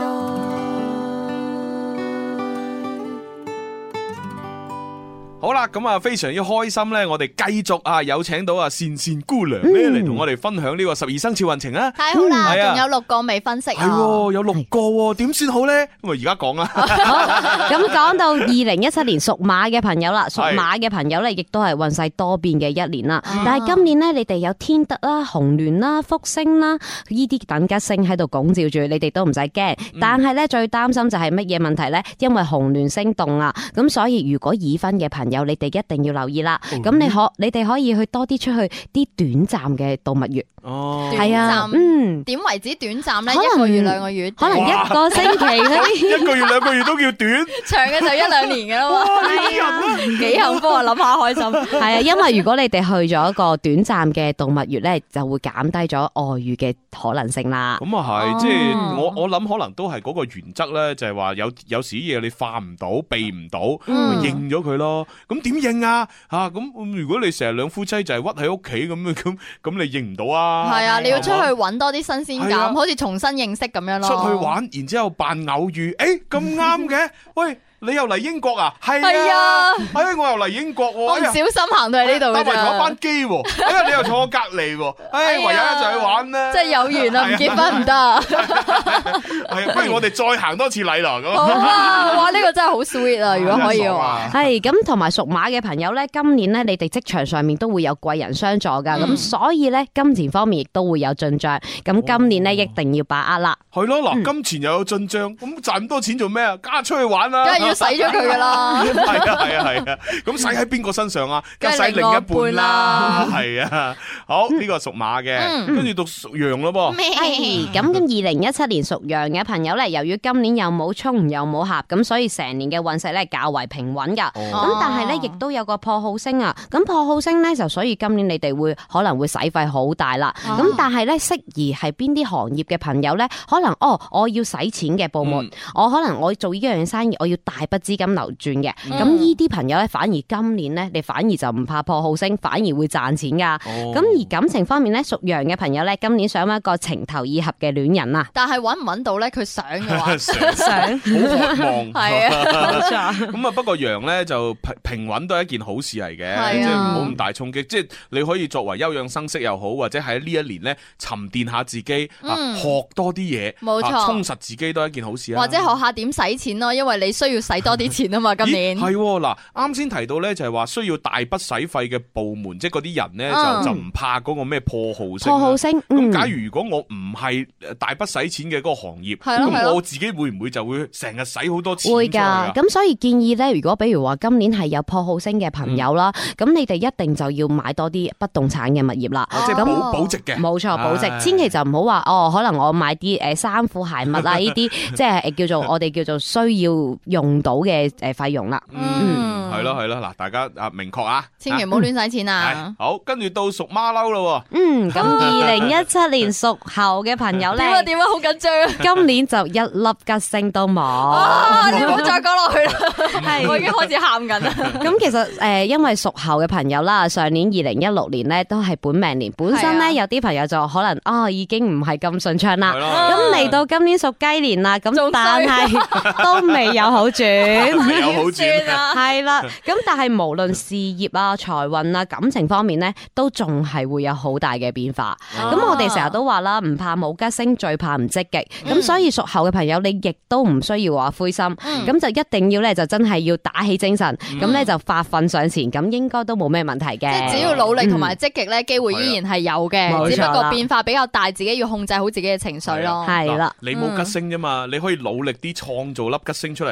好啦，咁啊非常之開心咧，我哋繼續啊有請到啊善善姑娘咧嚟同我哋分享呢個12生肖運程啊！ 太好啦，仲有6個未分析啊！ 係有6個喎，點算好咧？咁啊而家講啦。 咁講到2017年屬馬嘅朋友啦，屬馬嘅朋友咧，亦都係運勢多變嘅一年啦。但係今年咧，你哋有天德啦、紅鸞啦、福星啦呢啲等吉星喺度拱照住，你哋都唔使驚。但係咧最擔心就係乜嘢問題咧？因為紅鸞星動啊，咁所以如果已婚嘅朋友，你哋一定要留意啦。咁你哋可以去多啲出去啲短暫嘅度蜜月。 哦， 係啊， 點為止短暫咧？1個月、2個月， 可能1個星期嗰啲 ，1個月、2個月都叫短， 長嘅就1-2年嘅啦嘛。幾幸福啊！諗下開心。 係啊，因為如果你哋去咗一個短暫嘅度蜜月咧，就會減低咗外遇嘅可能性啦。 咁啊係，即係我諗可能都係嗰個原則咧，就係話有時啲嘢你化唔到、避唔到，咪認咗佢咯。咁點認啊？咁如果你成日兩夫妻就係屈喺屋企咁你認唔到啊？ 係啊，你要出去揾多啲新鮮感，好似重新認識咁樣咯。 出去玩，然之後扮偶遇，咁啱嘅，喂。你又嚟英國啊？係啊，我又嚟英國喎。 我唔小心行到嚟呢度㗎咋。搭埋同一班機喎，你又坐我隔離喎。唯有一齊去玩啦。 真係有緣啊，唔結婚唔得。 係，不如我哋再行多次禮啦咁。 好啊，哇！呢個真係好 sweet 啊，如果可以嘅話。 係咁，同埋屬馬嘅朋友咧，今年咧你哋職場上面都會有貴人相助㗎，咁所以咧金錢方面亦都會有進帳。咁今年咧一定要把握啦。 係咯，嗱，金錢又有進帳，咁賺咁多錢做咩啊？梗係出去玩啦。 要使咗佢噶啦， 係啊，咁使喺邊個身上啊？梗係使另一半啦，係啊。好，呢個屬馬嘅，跟住讀屬羊咯噃。 咁2017年屬羊嘅朋友咧，由於今年又冇衝又冇合，咁所以成年嘅運勢咧較為平穩噶。咁但係咧亦都有個破耗星啊。咁破耗星咧就所以今年你哋可能會使費好大啦。咁但係咧適宜係邊啲行業嘅朋友咧？可能我要使錢嘅部門，可能我做呢樣生意，我要大筆資金流轉嘅，咁呢啲朋友咧，反而今年咧，你反而就唔怕破耗星，反而會賺錢噶。咁而感情方面咧，屬羊嘅朋友咧，今年想揾一個情投意合嘅戀人啊。 但係揾唔揾到咧？佢想嘅話， 想好渴望， 係啊，冇錯。 咁啊，不過羊咧就平穩都係一件好事嚟嘅，即係唔好咁大衝擊。即係你可以作為休養生息又好，或者喺呢一年咧沉澱下自己，學多啲嘢， 冇錯， 充實自己都係一件好事啊。 或者學下點使錢咯，因為你需要使多啲錢啊嘛。今年係嗱，啱先提到咧，就係話需要大筆使費嘅部門，即係嗰啲人咧就唔怕嗰個咩破耗星。 破耗星， 咁假如如果我唔係大筆使錢嘅嗰個行業，咁我自己會唔會就會成日使好多錢？ 會㗎。咁所以建議咧，如果比如話今年係有破耗星嘅朋友啦，咁你哋一定就要買多啲不動產嘅物業啦。 即係保值嘅。 冇錯，保值。千祈就唔好話可能我買啲衫褲鞋襪啊呢啲，即係我哋叫做需要用到嘅費用啦。 係咯，嗱，大家明確啊， 千祈唔好亂使錢啊。 好，跟住到屬馬騮咯。 咁2017年屬猴嘅朋友咧， 點啊，好緊張啊！ 今年就一粒吉星都冇。 你唔好再講落去啦，我已經開始喊緊啦。 咁其實因為屬猴嘅朋友啦，上年2016年咧都係本命年，本身咧有啲朋友就可能已經唔係咁順暢啦。咁嚟到今年屬雞年啦，咁但係都未有好轉， 有好轉啊，係啦。咁但係無論事業啊、財運啊、感情方面咧，都仲係會有好大嘅變化。咁我哋成日都話啦，唔怕冇吉星，最怕唔積極。咁所以屬猴嘅朋友，你亦都唔需要話灰心。咁就一定要咧，就真係要打起精神。咁咧就發奮上前，咁應該都冇咩問題嘅。 即係只要努力同埋積極咧，機會依然係有嘅。只不過變化比較大，自己要控制好自己嘅情緒咯。 係啦， 你冇吉星啫嘛，你可以努力啲創造粒吉星出嚟噶嘛。 例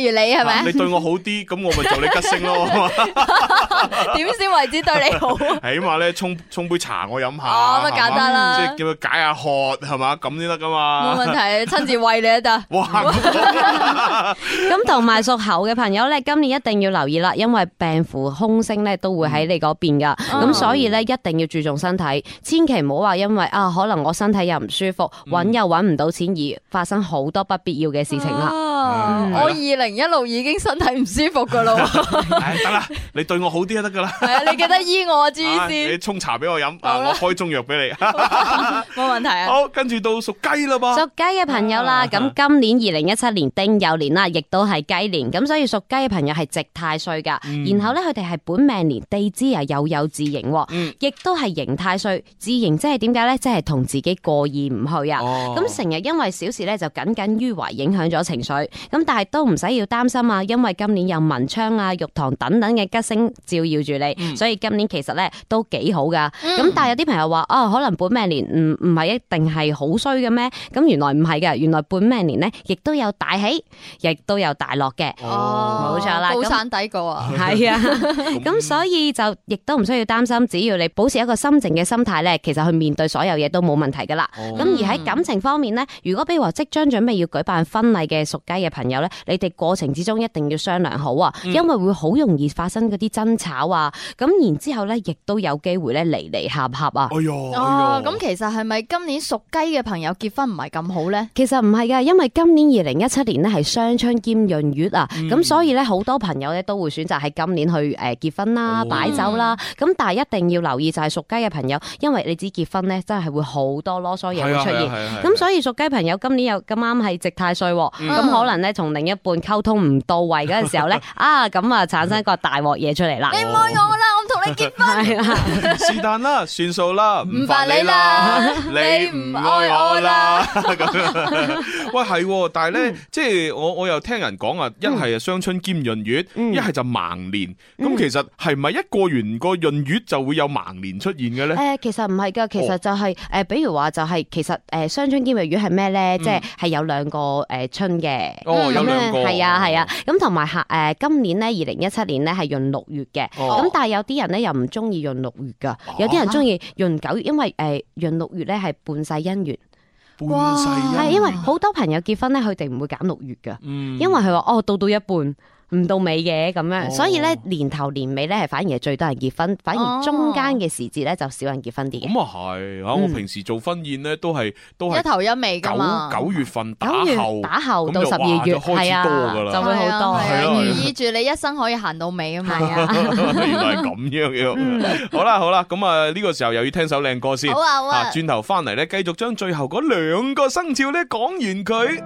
例如你係咪？ 你對我好啲，咁我咪做你吉星咯。 點先為止對你好？ 起碼咧沖杯茶我飲下， 咁啊簡單啦， 即係叫佢解下渴係嘛，咁先得噶嘛。 冇問題，親自餵你都得。 哇！ 咁同埋屬猴嘅朋友咧，今年一定要留意啦，因為病符空星咧都會喺你嗰邊噶，咁所以咧一定要注重身體，千祈唔好話因為可能我身體又唔舒服，揾又揾唔到錢而發生好多不必要嘅事情啦。 我2016已經身體唔舒服噶咯。 得啦，你對我好啲就得噶啦。 係啊，你記得醫我啊，朱醫師。 你沖茶俾我飲，我開中藥俾你。 冇問題啊。 好，跟住到屬雞啦噃。 屬雞嘅朋友啦，咁今年2017年丁酉年啦，亦都係雞年，咁所以屬雞嘅朋友係值太歲噶。然後咧，佢哋係本命年地支啊有自刑，亦都係刑太歲。自刑即係點解咧？即係同自己過意唔去啊。咁成日因為小事咧就耿耿於懷，影響咗情緒。咁但係都唔使要擔心啊，因為今年有文昌啊、玉堂等等嘅吉星照耀住你，所以今年其實咧都幾好噶。咁但係有啲朋友話可能本命年唔係一定係好衰嘅咩？咁原來唔係嘅，原來本命年咧亦都有大喜，亦都有大落嘅。冇錯啦， 高山低谷啊。 係啊，咁所以就亦都唔需要擔心，只要你保持一個心靜嘅心態咧，其實去面對所有嘢都冇問題噶啦。咁而喺感情方面咧，如果比如話即將準備要舉辦婚禮嘅屬雞嘅朋友咧，你哋過程之中一定要商量好啊，因為會好容易發生嗰啲爭吵啊，咁然之後咧亦都有機會咧離離合合啊。 咁其實係咪今年屬雞嘅朋友結婚唔係咁好咧？ 其實唔係噶，因為今年2017年咧係雙春兼閏月啊，咁所以咧好多朋友咧都會選擇喺今年去結婚啦、擺酒啦，咁但係一定要留意就係屬雞嘅朋友，因為你知結婚咧真係會好多囉嗦嘢會出現，咁所以屬雞朋友今年又咁啱係值太歲，咁可能咧同另一半溝通唔到位嗰陣時候咧，咁啊產生一個大鑊嘢出嚟啦。 你唔愛我啦，我唔同你結婚。 是但啦，算數啦， 唔煩你啦， 你唔愛我啦。咁樣，喂係，但係咧，即係我又聽人講啊，一係雙春兼閏月，一係就盲年。咁其實係咪一過完個閏月就會有盲年出現嘅咧？ 其實唔係噶，其實就係比如話就係其實雙春兼閏月係咩咧？即係有兩個春嘅。 有兩個。 係啊，咁同埋今年咧2017年咧係閏6月嘅，咁但係有啲人咧又唔中意閏6月噶，有啲人中意閏9月，因為閏6月咧係半世姻緣。 半世姻緣。 係因為好多朋友結婚咧，佢哋唔會揀6月噶，因為佢話到一半。唔到尾嘅咁樣，所以咧年頭年尾咧係反而係最多人結婚，反而中間嘅時節咧就少人結婚啲嘅。 咁啊係，我平時做婚宴咧都係一頭一尾噶嘛。 9月份打後到12月， 係啊， 就會好多， 寓意住你一生可以行到尾啊嘛。 原來係咁樣嘅。好啦，咁啊呢個時候又要聽首靚歌先。 好啊。 轉頭翻嚟咧，繼續將最後嗰2個生肖咧講完佢。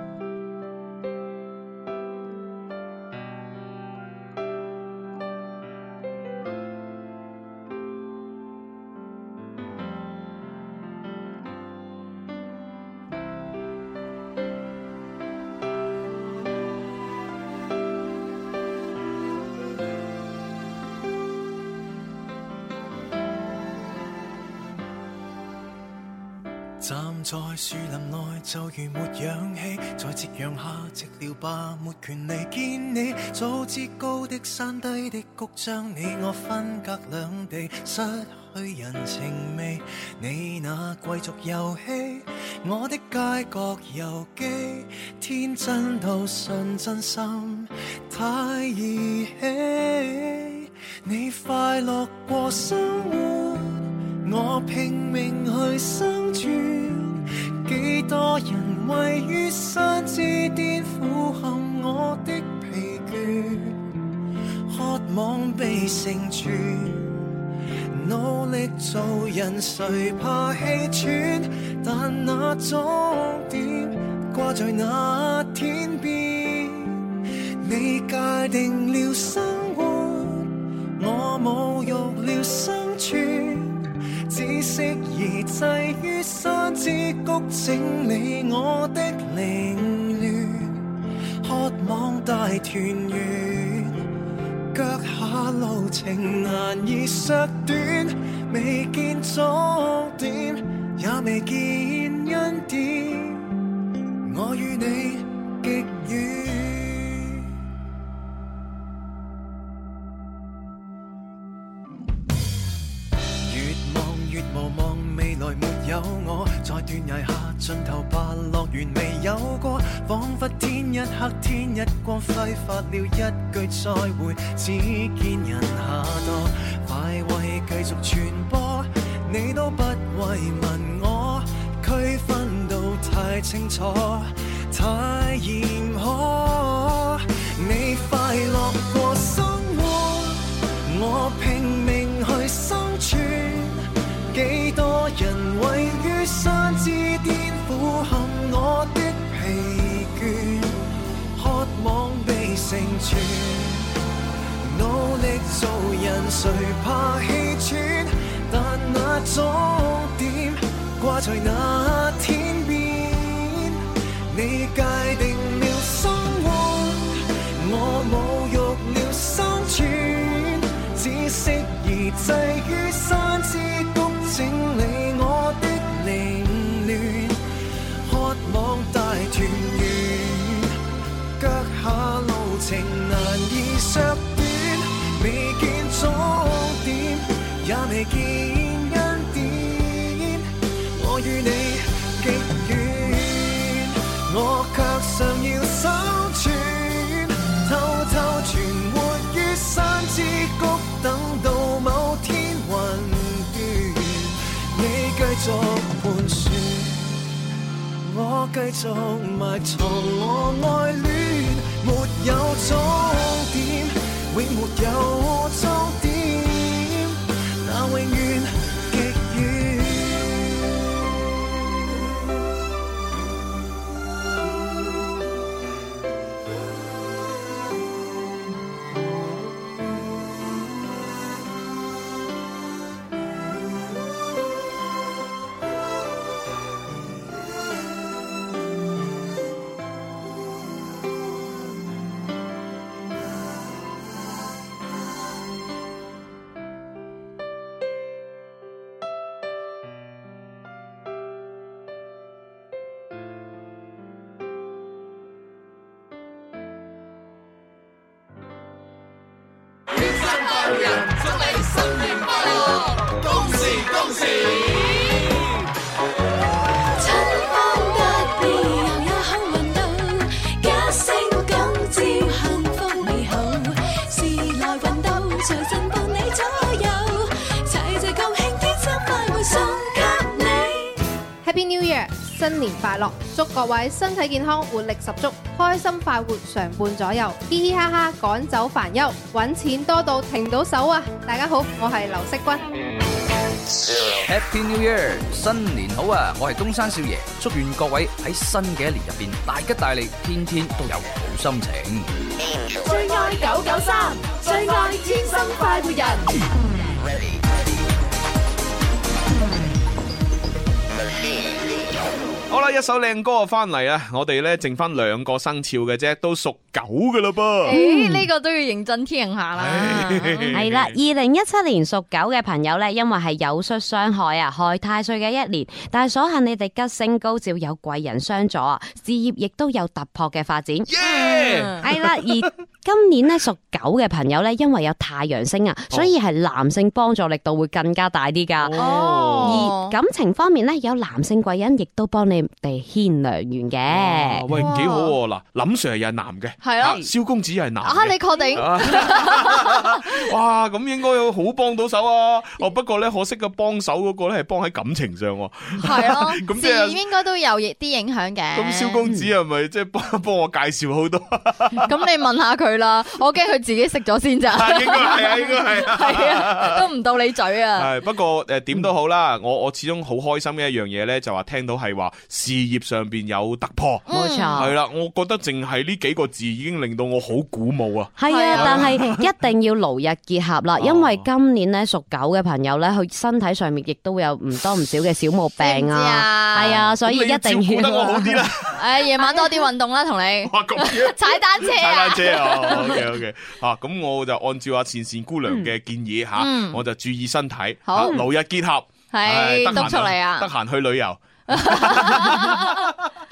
站在樹林內就如沒氧氣，在夕陽下寂寥吧，沒權利見你。早知高的山低的谷將你我分隔兩地，失去人情味。你那貴族遊戲，我的街角遊記，天真到信真心太兒戲。你快樂過生活，我拼命去生存。幾多人位於山之巔，俯瞰我的疲倦，渴望被成全，努力做人誰怕氣喘？但那終點掛在那天邊，你界定了生活，我侮辱了生存，只適宜滯於山之谷，整理我的凌亂，渴望大團圓，腳下路程難以削短，未見終點，也未見恩典，我與你極遠。 無望未來沒有我，在斷崖下盡頭白樂園未有過，彷彿天一黑天一光，揮發了一句再會，只見人下墮。快慰繼續傳播，你都不慰問我，區分到太清楚，太嚴苛。你快樂過生活，我拼命去生存，幾多人位於山之巔，俯瞰我的疲倦，渴望被成全，努力做人誰怕氣喘，但那終點掛在那天邊，你界定了生活，我侮辱了生存，只適宜滯於山之谷，整理我的凌亂，渴望大團圓，腳下路程難以削短，未見終點，也未見恩典，我與你極遠，我卻尚要生存，偷偷存活於山之谷，等到某天雲斷，你繼續盤旋，我繼續埋藏我愛戀，沒有終點，永沒有終點，但永遠極遠。 Happy New Year！ 新年快樂，祝各位身體健康，活力十足，開心快活常伴左右，嘻嘻哈哈趕走煩憂，揾錢多到停到手啊！大家好，我係劉惜君。 Happy New Year！ 新年好啊！我係東山少爺，祝願各位喺新嘅一年入邊大吉大利，天天都有好心情。 最愛993，最愛天生快活人。 好啦，一首靚歌啊，翻嚟啊！我哋咧剩翻2個生肖嘅啫，都屬狗噶啦噃。 呢個都要認真聽下啦。 係啦，2017年屬狗嘅朋友咧，因為係有術傷害啊，害太歲嘅一年，但係所幸你哋吉星高照，有貴人相助啊，事業亦都有突破嘅發展。係啦，而今年咧屬狗嘅朋友咧，因為有太陽星啊，所以係男性幫助力度會更加大啲噶。而感情方面咧，有男性貴人亦都幫你哋牽良緣嘅。 喂，幾好喎！嗱，林 Sir 又係男嘅， 係啊， 蕭公子又係男嘅。 啊，你確定？ 哇，咁應該好幫到手啊！哦，不過咧，可惜嘅幫手嗰個咧係幫喺感情上喎。 係咯， 咁事業應該都有啲影響嘅。 咁蕭公子係咪即係幫我介紹好多？ 咁你問下佢啦，我驚佢自己食咗先咋。 應該係啊，應該係啊， 係啊，都唔到你嘴啊。 係不過點都好啦，我始終好開心嘅一樣嘢咧，就話聽到係話事業上邊有突破， 冇錯， 係啦，我覺得淨係呢幾個字已經令到我好鼓舞啊。 係啊，但係一定要勞逸結合啦，因為今年咧屬狗嘅朋友咧，佢身體上面亦都有唔多唔少嘅小毛病啊，係啊，所以一定要照顧得我好啲啦。 夜晚多啲運動啦，同你踩單車啊， 踩單車啊，OK， 咁我就按照阿倩倩姑娘嘅建議吓，我就注意身體，勞逸結合， 係督促你啊， 得閒去旅遊。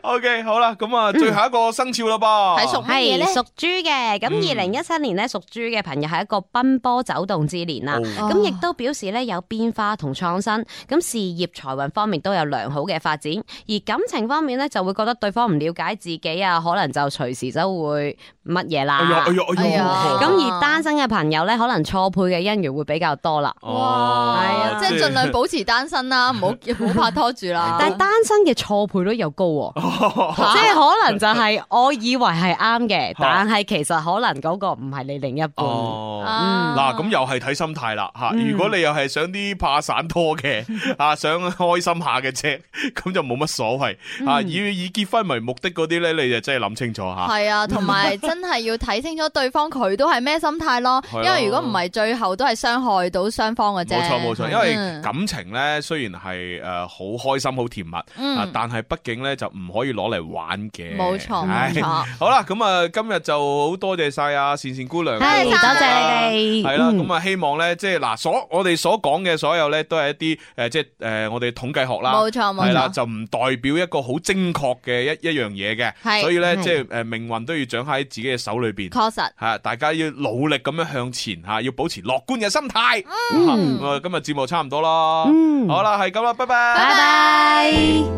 OK， 好啦，咁啊，最後一個生肖啦噃， 係屬豬嘅。咁2017年咧，屬豬嘅朋友係一個奔波走動之年啦。咁亦都表示咧有變化同創新。咁事業財運方面都有良好嘅發展，而感情方面咧就會覺得對方唔了解自己啊，可能就隨時就會乜嘢啦。咁而單身嘅朋友咧，可能錯配嘅姻緣會比較多啦。 哇，係啊，即係盡量保持單身啦，唔好拍拖住啦。 但係單身嘅錯配率又高喎，即係可能就係我以為係啱嘅，但係其實可能嗰個唔係你另一半。 嗱，咁又係睇心態啦吓。如果你又係想啲怕散拖嘅啊，想開心下嘅啫，咁就冇乜所謂啊。以結婚為目的嗰啲咧，你就真係諗清楚吓。 係啊，同埋真係要睇清楚對方佢都係咩心態咯。因為如果唔係，最後都係傷害到雙方嘅啫。 冇錯，因為感情咧雖然係好開心好甜蜜啊，但係畢竟咧就唔可以攞嚟玩嘅。冇錯。好啦，咁啊今日就好多謝晒阿善善姑娘， 多謝你哋。 係啦，咁啊希望咧即係嗱我哋所講嘅所有咧都係一啲即係我哋統計學啦。冇錯，係啦，就唔代表一個好精確嘅一樣嘢嘅。所以咧即係命運都要掌握喺自己嘅手裏邊。確實係，大家要努力咁樣向前吓，要保持樂觀嘅心態。今日節目差唔多啦。好啦，係咁啦，拜拜。拜拜。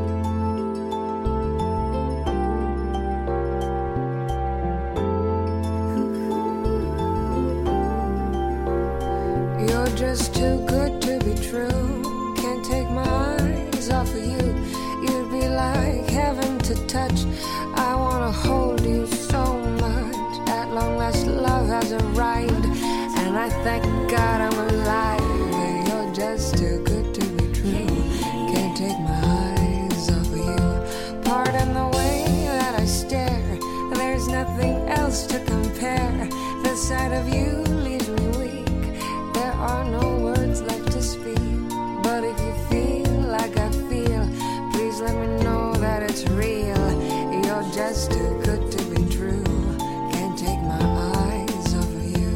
You're just too good to be true. Can't take my eyes off of you. You'd be like heaven to touch. I wanna hold you so much. At long last love has arrived, and I thank God I'm alive. You're just too good to be true. Can't take my eyes off of you. Pardon the way that I stare. There's nothing else to compare. The sight of you leaves me weak. There are no words left to speak. But if you feel like I feel, please let me know that it's real. You're just too good to be true. Can't take my eyes off of you.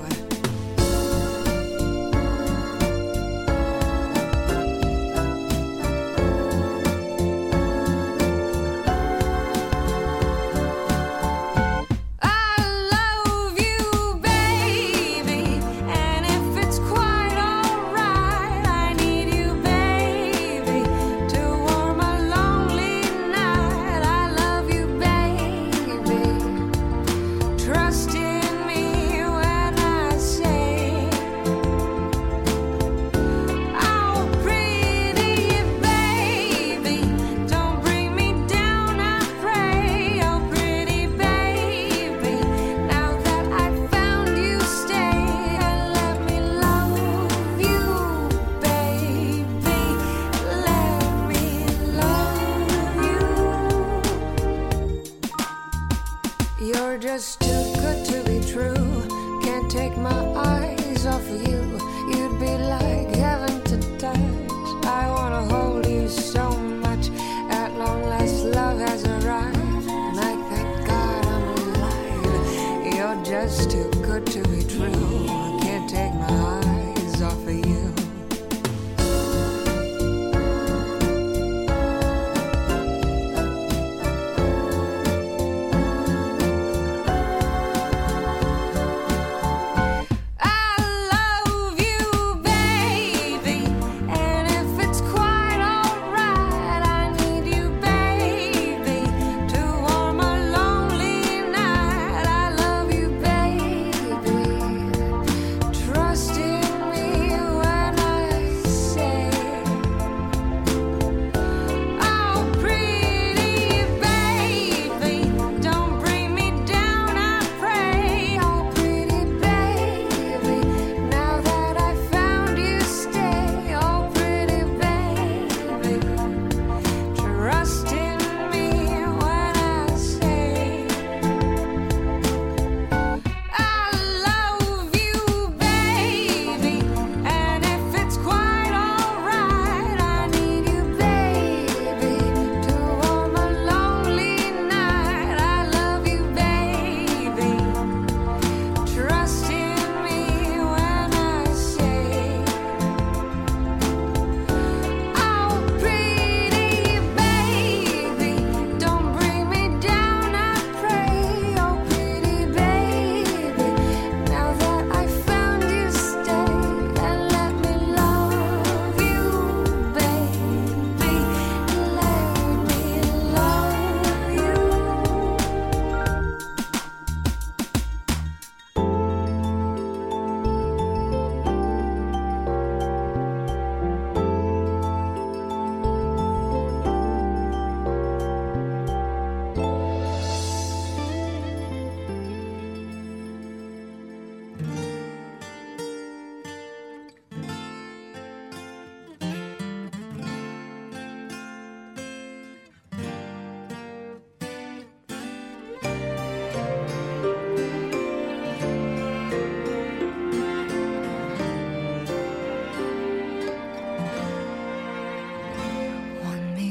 You're just too good to be true. Can't take my eyes off of you. You'd be like heaven to touch. I wanna hold you so much. At long last love has arrived, and I thank God I'm alive. You're just too good to be true. Can't take my eyes off of you.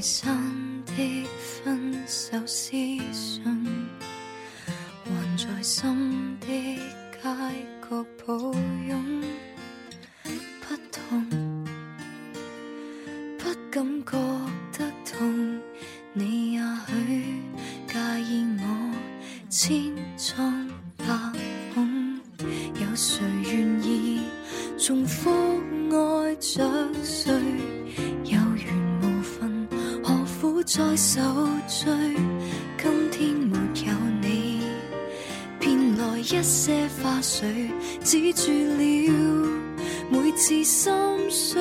散的分手私信，還在心的街角抱擁，不痛，不感覺得痛，你也許介意我千瘡百孔，有誰願意重複愛着誰？有緣無分，何苦再受罪？今天沒有你，變來一些花絮，止住了每次心碎。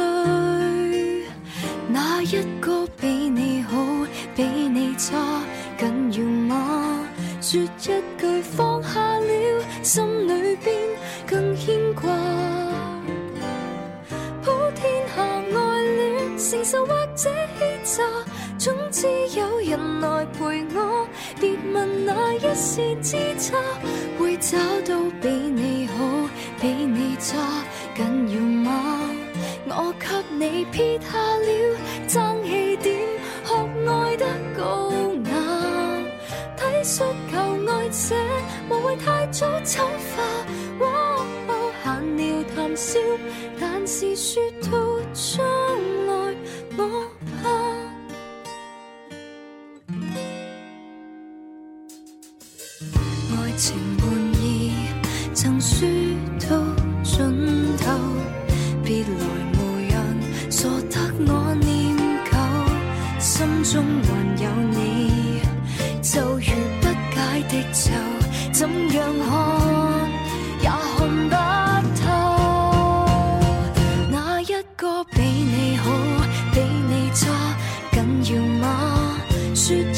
哪一個比你好，比你差，緊要嗎？說一句放下了，心裏邊更牽掛。普天下愛戀，承受或者欺詐，總之有人來陪我。別問哪一線之差，會找到比你好，比你差，緊要嗎？我給你撇下了爭氣點，學愛得高雅，體恤求愛者，無謂太早醜化。閒聊談笑，但是說到將來，我怕。愛情玩意曾輸到盡頭，別來無人傻得我念舊，心中還有你，就如不解的咒，怎樣看也看不透。哪一個比你好，比你差，緊要嗎？說